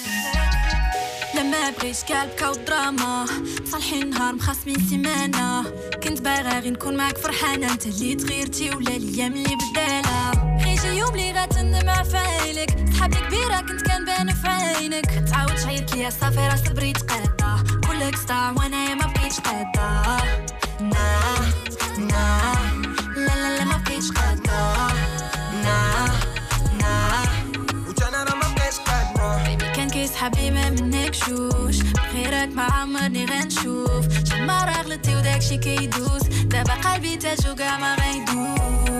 لما بغيت كالبكا ودراما صالحين نهار مخاصمين سيمانة كنت باغا غير نكون معاك فرحانة انت اللي تغيرتي ولا الايام اللي بدالة غيجي يوم اللي غتندم عفايلك صحابي كبيرة كنت كنبان في عينك تعاود تعيط ليا صافي راه صبري تقادا كلك صداع وانايا ما بقيتش قادا نا نا لا لا لا ما بقيتش قادا نا نا وجانا راه ما بقيتش قادا بيبي كان كيسحابلي ما منك شوش بخيرك ما عمرني غنشوف شما راه غلطتي وداكشي كيدوز دابا قلبي تاجو كاع ما غيدوز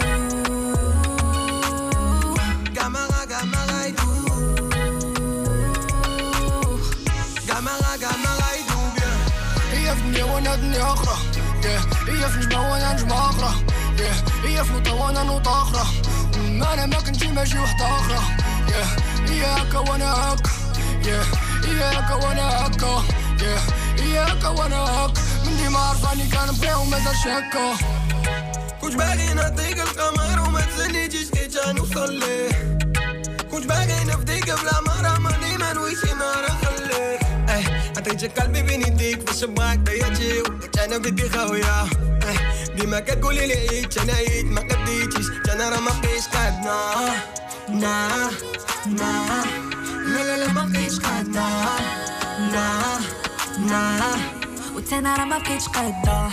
كاع ما غيدوز كاع ما غيدوز هي في دنيا وانا دنيا اخرى هي في نجمة وانا نجمة اخرى هي في نوطة وانا نوطة اخرى انا ما كنتي ماشي وحدة اخرى هي هكا وانا هكا هي هكا وانا هكا هي هكا وانا هكا من ديما عرفاني كنبغيها ومازالش هكا كنت باغي نعطيك القمر وما تسنيتيش كي تنوصل ليه كنت باغي نفديك بلا مرة ماني ما نويش نهار نخليك عطيتك قلبي بين يديك باش نبغاك ضيعتي وقلت انا بدي خاوية ديما كتقولي لي عيد انا عيد ما قديتيش انا راه ما بقيتش قادنا نا نا لا لا لا ما بقيتش قادنا نا نا وتانا راه ما بقيتش قادة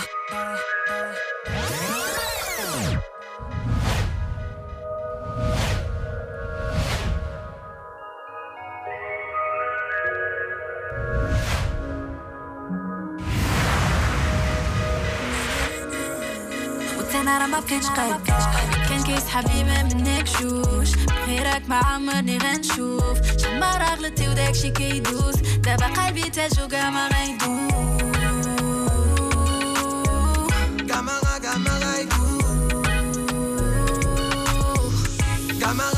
وتانا راه ما بقيتش قادة كان كيسحابلي ما منك شوش بخيرك ما عمرني غنشوف شما راه غلطتي وداكشي كيدوز دابا قلبي تاجو كاع ما غيدوز كاع ما غيدوز كاع ما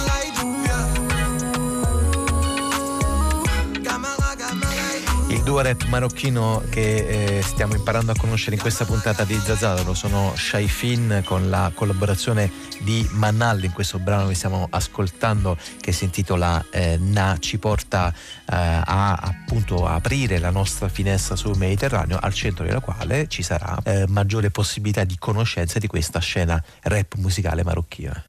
Il duo rap marocchino che stiamo imparando a conoscere in questa puntata di Zazà lo sono Shy Fin con la collaborazione di Manal in questo brano che stiamo ascoltando che si intitola Na, ci porta a appunto aprire la nostra finestra sul Mediterraneo, al centro della quale ci sarà maggiore possibilità di conoscenza di questa scena rap musicale marocchina.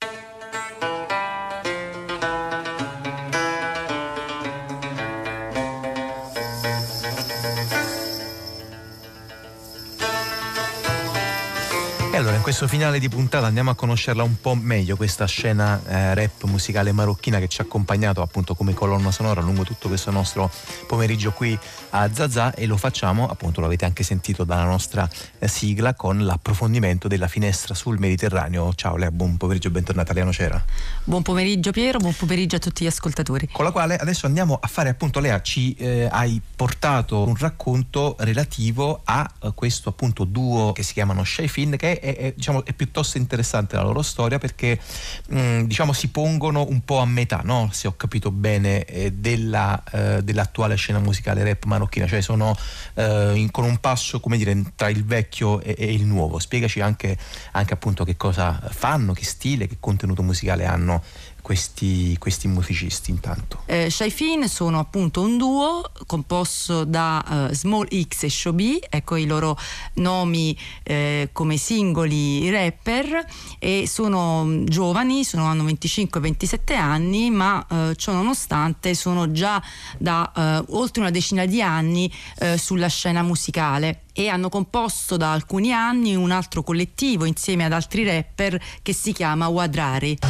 Allora, in questo finale di puntata andiamo a conoscerla un po' meglio, questa scena rap musicale marocchina che ci ha accompagnato appunto come colonna sonora lungo tutto questo nostro pomeriggio qui a Zazà, e lo facciamo appunto, lo avete anche sentito dalla nostra sigla, con l'approfondimento della finestra sul Mediterraneo. Ciao Lea, buon pomeriggio, bentornata. Lea Nocera. Buon pomeriggio Piero, buon pomeriggio a tutti gli ascoltatori. Con la quale adesso andiamo a fare appunto, Lea, ci hai portato un racconto relativo a questo appunto duo che si chiamano Shy Fin, che diciamo, è piuttosto interessante la loro storia perché diciamo si pongono un po' a metà, no? Se ho capito bene, dell'attuale scena musicale rap marocchina, cioè sono con un passo, come dire, tra il vecchio e il nuovo. Spiegaci anche appunto che cosa fanno, che stile, che contenuto musicale hanno questi musicisti intanto? Shy Fin sono appunto un duo composto da Small X e Show B, ecco i loro nomi come singoli rapper, e sono giovani, hanno 25-27 anni, ma ciò nonostante sono già da oltre una decina di anni sulla scena musicale, e hanno composto da alcuni anni un altro collettivo insieme ad altri rapper che si chiama Wadrari.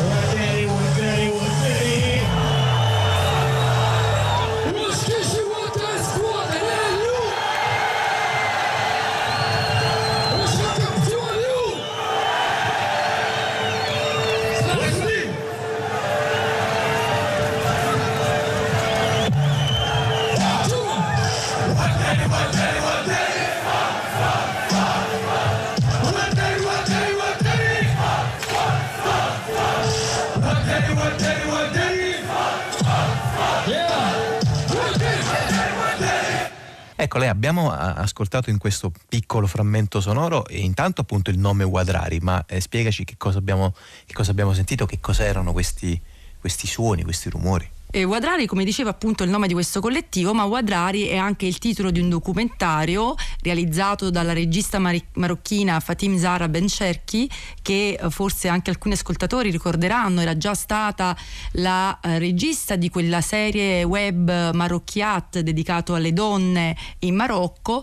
Ecco, lei abbiamo ascoltato in questo piccolo frammento sonoro e intanto appunto il nome Wadrari, ma spiegaci che cosa abbiamo sentito, che cos'erano questi suoni, questi rumori. Wadrari, come diceva appunto il nome di questo collettivo, ma Wadrari è anche il titolo di un documentario realizzato dalla regista marocchina Fatim Zahra Bencherki, che forse anche alcuni ascoltatori ricorderanno, era già stata la regista di quella serie web Marocchiat dedicato alle donne in Marocco,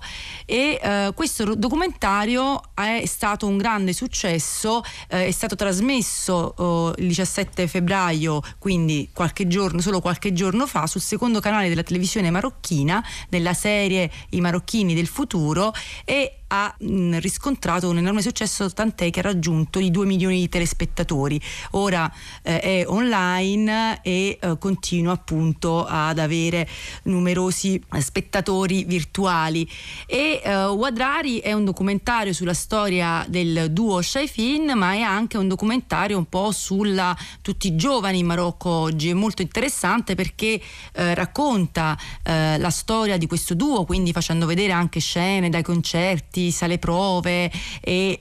e questo documentario è stato un grande successo, è stato trasmesso il 17 febbraio, quindi solo qualche giorno fa, sul secondo canale della televisione marocchina, nella serie I marocchini del futuro, e ha riscontrato un enorme successo, tant'è che ha raggiunto i 2 milioni di telespettatori. Ora è online e continua appunto ad avere numerosi spettatori virtuali. E Wadrari è un documentario sulla storia del duo Shy Fin, ma è anche un documentario un po' sulla tutti i giovani in Marocco oggi. È molto interessante perché racconta la storia di questo duo, quindi facendo vedere anche scene dai concerti, sale prove e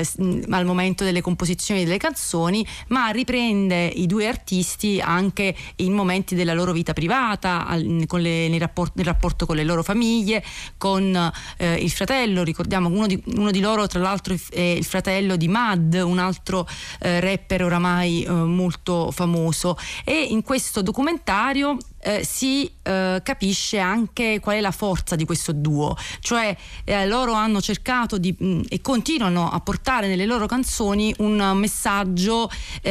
al momento delle composizioni delle canzoni, ma riprende i due artisti anche in momenti della loro vita privata, nel rapporto con le loro famiglie, con il fratello. Ricordiamo uno di loro, tra l'altro, è il fratello di Mad, un altro rapper oramai molto famoso, e in questo documentario si capisce anche qual è la forza di questo duo, cioè loro hanno cercato e continuano a portare nelle loro canzoni un messaggio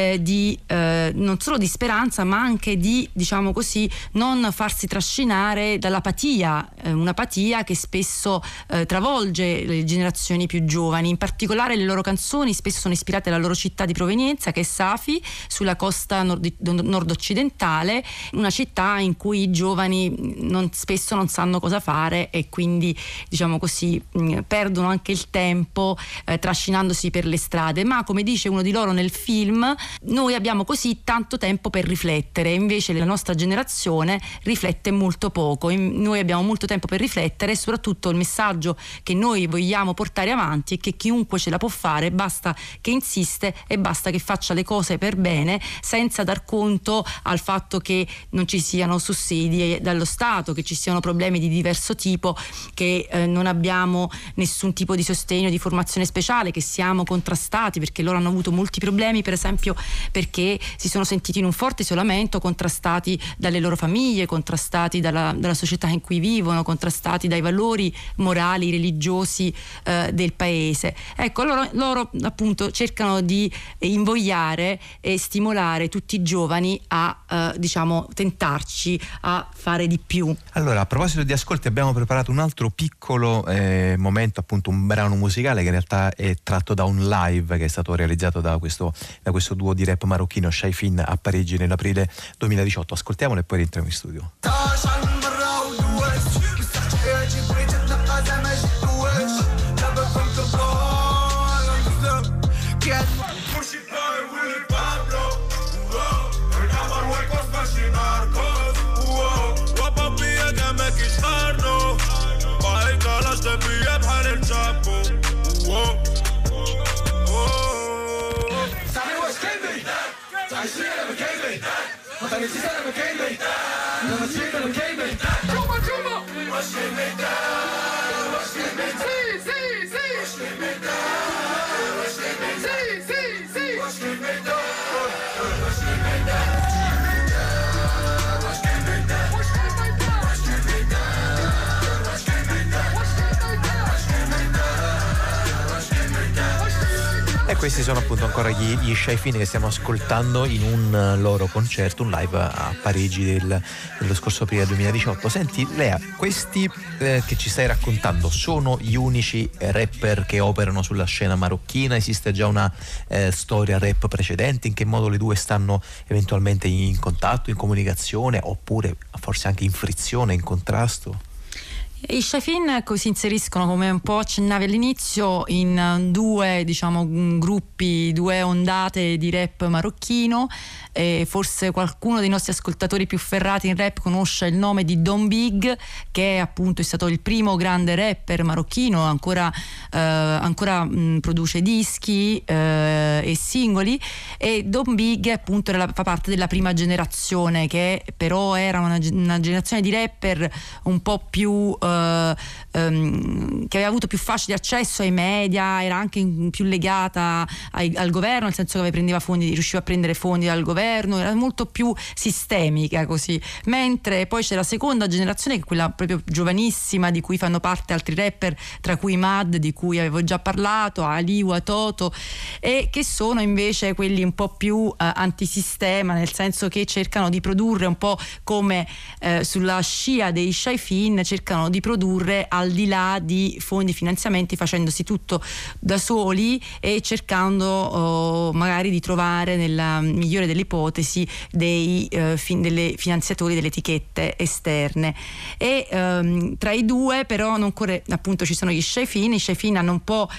di non solo di speranza, ma anche di, diciamo così, non farsi trascinare dall'apatia, un'apatia che spesso travolge le generazioni più giovani. In particolare le loro canzoni spesso sono ispirate alla loro città di provenienza, che è Safi, sulla costa nord-occidentale, una città in cui i giovani spesso non sanno cosa fare e quindi, diciamo così, perdono anche il tempo trascinandosi per le strade. Ma, come dice uno di loro nel film, noi abbiamo così tanto tempo per riflettere, invece la nostra generazione riflette molto poco. Noi abbiamo molto tempo per riflettere, e soprattutto il messaggio che noi vogliamo portare avanti è che chiunque ce la può fare, basta che insiste e basta che faccia le cose per bene, senza dar conto al fatto che non ci siano sussidi dallo Stato, che ci siano problemi di diverso tipo, che non abbiamo nessun tipo di sostegno, di formazione speciale, che siamo contrastati, perché loro hanno avuto molti problemi, per esempio perché si sono sentiti in un forte isolamento, contrastati dalle loro famiglie, contrastati dalla società in cui vivono, contrastati dai valori morali, religiosi del paese. Ecco, loro appunto cercano di invogliare e stimolare tutti i giovani a diciamo tentarci a fare di più. Allora, a proposito di ascolti, abbiamo preparato un altro piccolo momento, appunto un brano musicale che in realtà è tratto da un live che è stato realizzato da questo duo di rap marocchino Shy Fin a Parigi nell'aprile 2018. Ascoltiamolo e poi rientriamo in studio. I see it, E questi sono appunto ancora gli Shy Finn che stiamo ascoltando in un loro concerto, un live a Parigi dello scorso aprile 2018. Senti Lea, questi che ci stai raccontando sono gli unici rapper che operano sulla scena marocchina? Esiste già una storia rap precedente? In che modo le due stanno eventualmente in contatto, in comunicazione, oppure forse anche in frizione, in contrasto? I Shy Finn si inseriscono, come un po' accennavi all'inizio, in due, diciamo, gruppi, due ondate di rap marocchino. E forse qualcuno dei nostri ascoltatori più ferrati in rap conosce il nome di Don Big, che appunto è stato il primo grande rapper marocchino, ancora produce dischi e singoli. E Don Big appunto fa parte della prima generazione, che però era una generazione di rapper un po' più che aveva avuto più facile accesso ai media, era anche più legata al governo, nel senso che riusciva a prendere fondi dal governo, era molto più sistemica così. Mentre poi c'è la seconda generazione, che è quella proprio giovanissima, di cui fanno parte altri rapper, tra cui Mad, di cui avevo già parlato, Aliwa, Toto, e che sono invece quelli un po' più antisistema, nel senso che cercano di produrre un po' come sulla scia dei Shy Finn, cercano di produrre al di là di fondi, finanziamenti, facendosi tutto da soli e cercando magari di trovare, nella migliore delle ipotesi, dei finanziatori, delle etichette esterne. E tra i due però non corre, appunto ci sono gli Shy Finn. I Shy Finn hanno un po'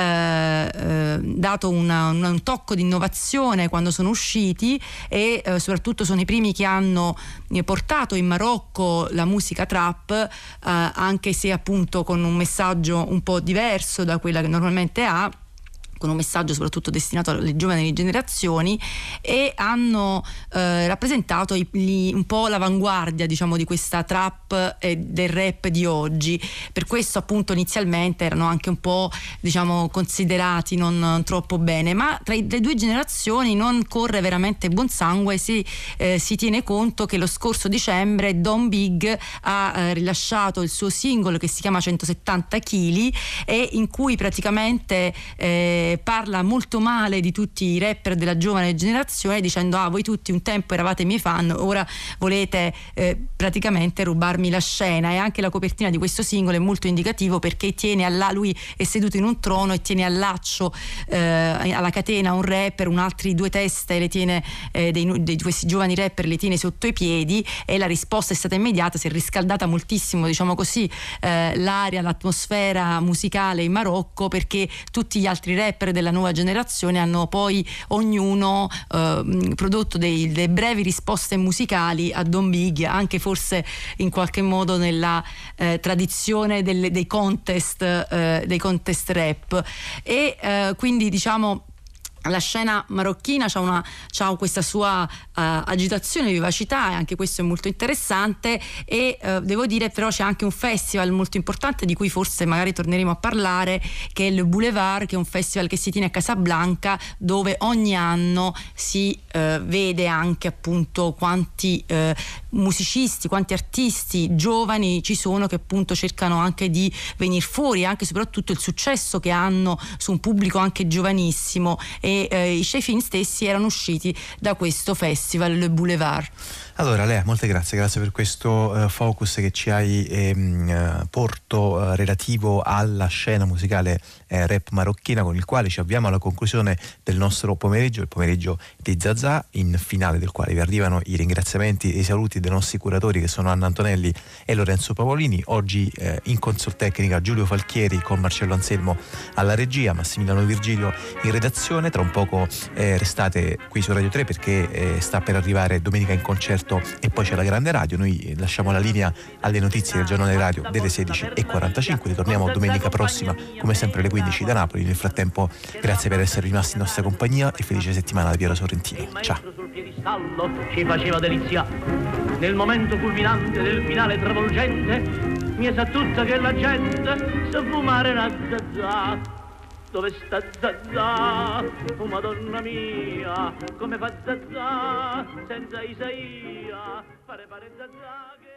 dato un tocco di innovazione quando sono usciti, e soprattutto sono i primi che hanno portato in Marocco la musica trap, anche se appunto con un messaggio un po' diverso da quella che normalmente ha, con un messaggio soprattutto destinato alle giovani generazioni, e hanno rappresentato un po' l'avanguardia, diciamo, di questa trap e del rap di oggi. Per questo appunto inizialmente erano anche un po', diciamo, considerati non troppo bene, ma tra le due generazioni non corre veramente buon sangue se si tiene conto che lo scorso dicembre Don Big ha rilasciato il suo singolo che si chiama 170 kg, e in cui praticamente parla molto male di tutti i rapper della giovane generazione, dicendo: voi tutti un tempo eravate miei fan, ora volete praticamente rubarmi la scena. E anche la copertina di questo singolo è molto indicativo, perché lui è seduto in un trono e tiene al laccio, alla catena, un rapper, altri due teste le tiene, di questi giovani rapper le tiene sotto i piedi, e la risposta è stata immediata, si è riscaldata moltissimo, diciamo così, l'aria, l'atmosfera musicale in Marocco, perché tutti gli altri rapper della nuova generazione hanno poi ognuno prodotto delle brevi risposte musicali a Don Big, anche forse in qualche modo nella tradizione dei contest rap. E quindi, diciamo, la scena marocchina c'ha questa sua agitazione e vivacità, e anche questo è molto interessante. E devo dire però c'è anche un festival molto importante, di cui forse magari torneremo a parlare, che è il Boulevard, che è un festival che si tiene a Casablanca, dove ogni anno si vede anche appunto quanti musicisti, quanti artisti giovani ci sono, che appunto cercano anche di venire fuori, anche e soprattutto il successo che hanno su un pubblico anche giovanissimo. E i Shy Finn stessi erano usciti da questo festival, Le Boulevard. Allora Lea, molte grazie per questo focus che ci hai porto relativo alla scena musicale rap marocchina, con il quale ci avviamo alla conclusione del nostro pomeriggio, il pomeriggio di Zazà, in finale del quale vi arrivano i ringraziamenti e i saluti dei nostri curatori, che sono Anna Antonelli e Lorenzo Pavolini. Oggi in console tecnica Giulio Falchieri, con Marcello Anselmo alla regia, Massimiliano Virgilio in redazione. Tra un poco restate qui su Radio 3, perché sta per arrivare Domenica in Concerto, e poi c'è la Grande Radio. Noi lasciamo la linea alle notizie del giornale radio delle 16:45. Ritorniamo domenica prossima, come sempre alle 15 da Napoli. Nel frattempo, grazie per essere rimasti in nostra compagnia e felice settimana da Piero Sorrentino. Ciao. piedistallo ci faceva delizia. Nel momento culminante del finale travolgente mi sa tutta che la gente sa fumare una zazà. Dove sta Zazà? Oh Madonna mia, come fa Zazà senza Isaia? Pare Zazà che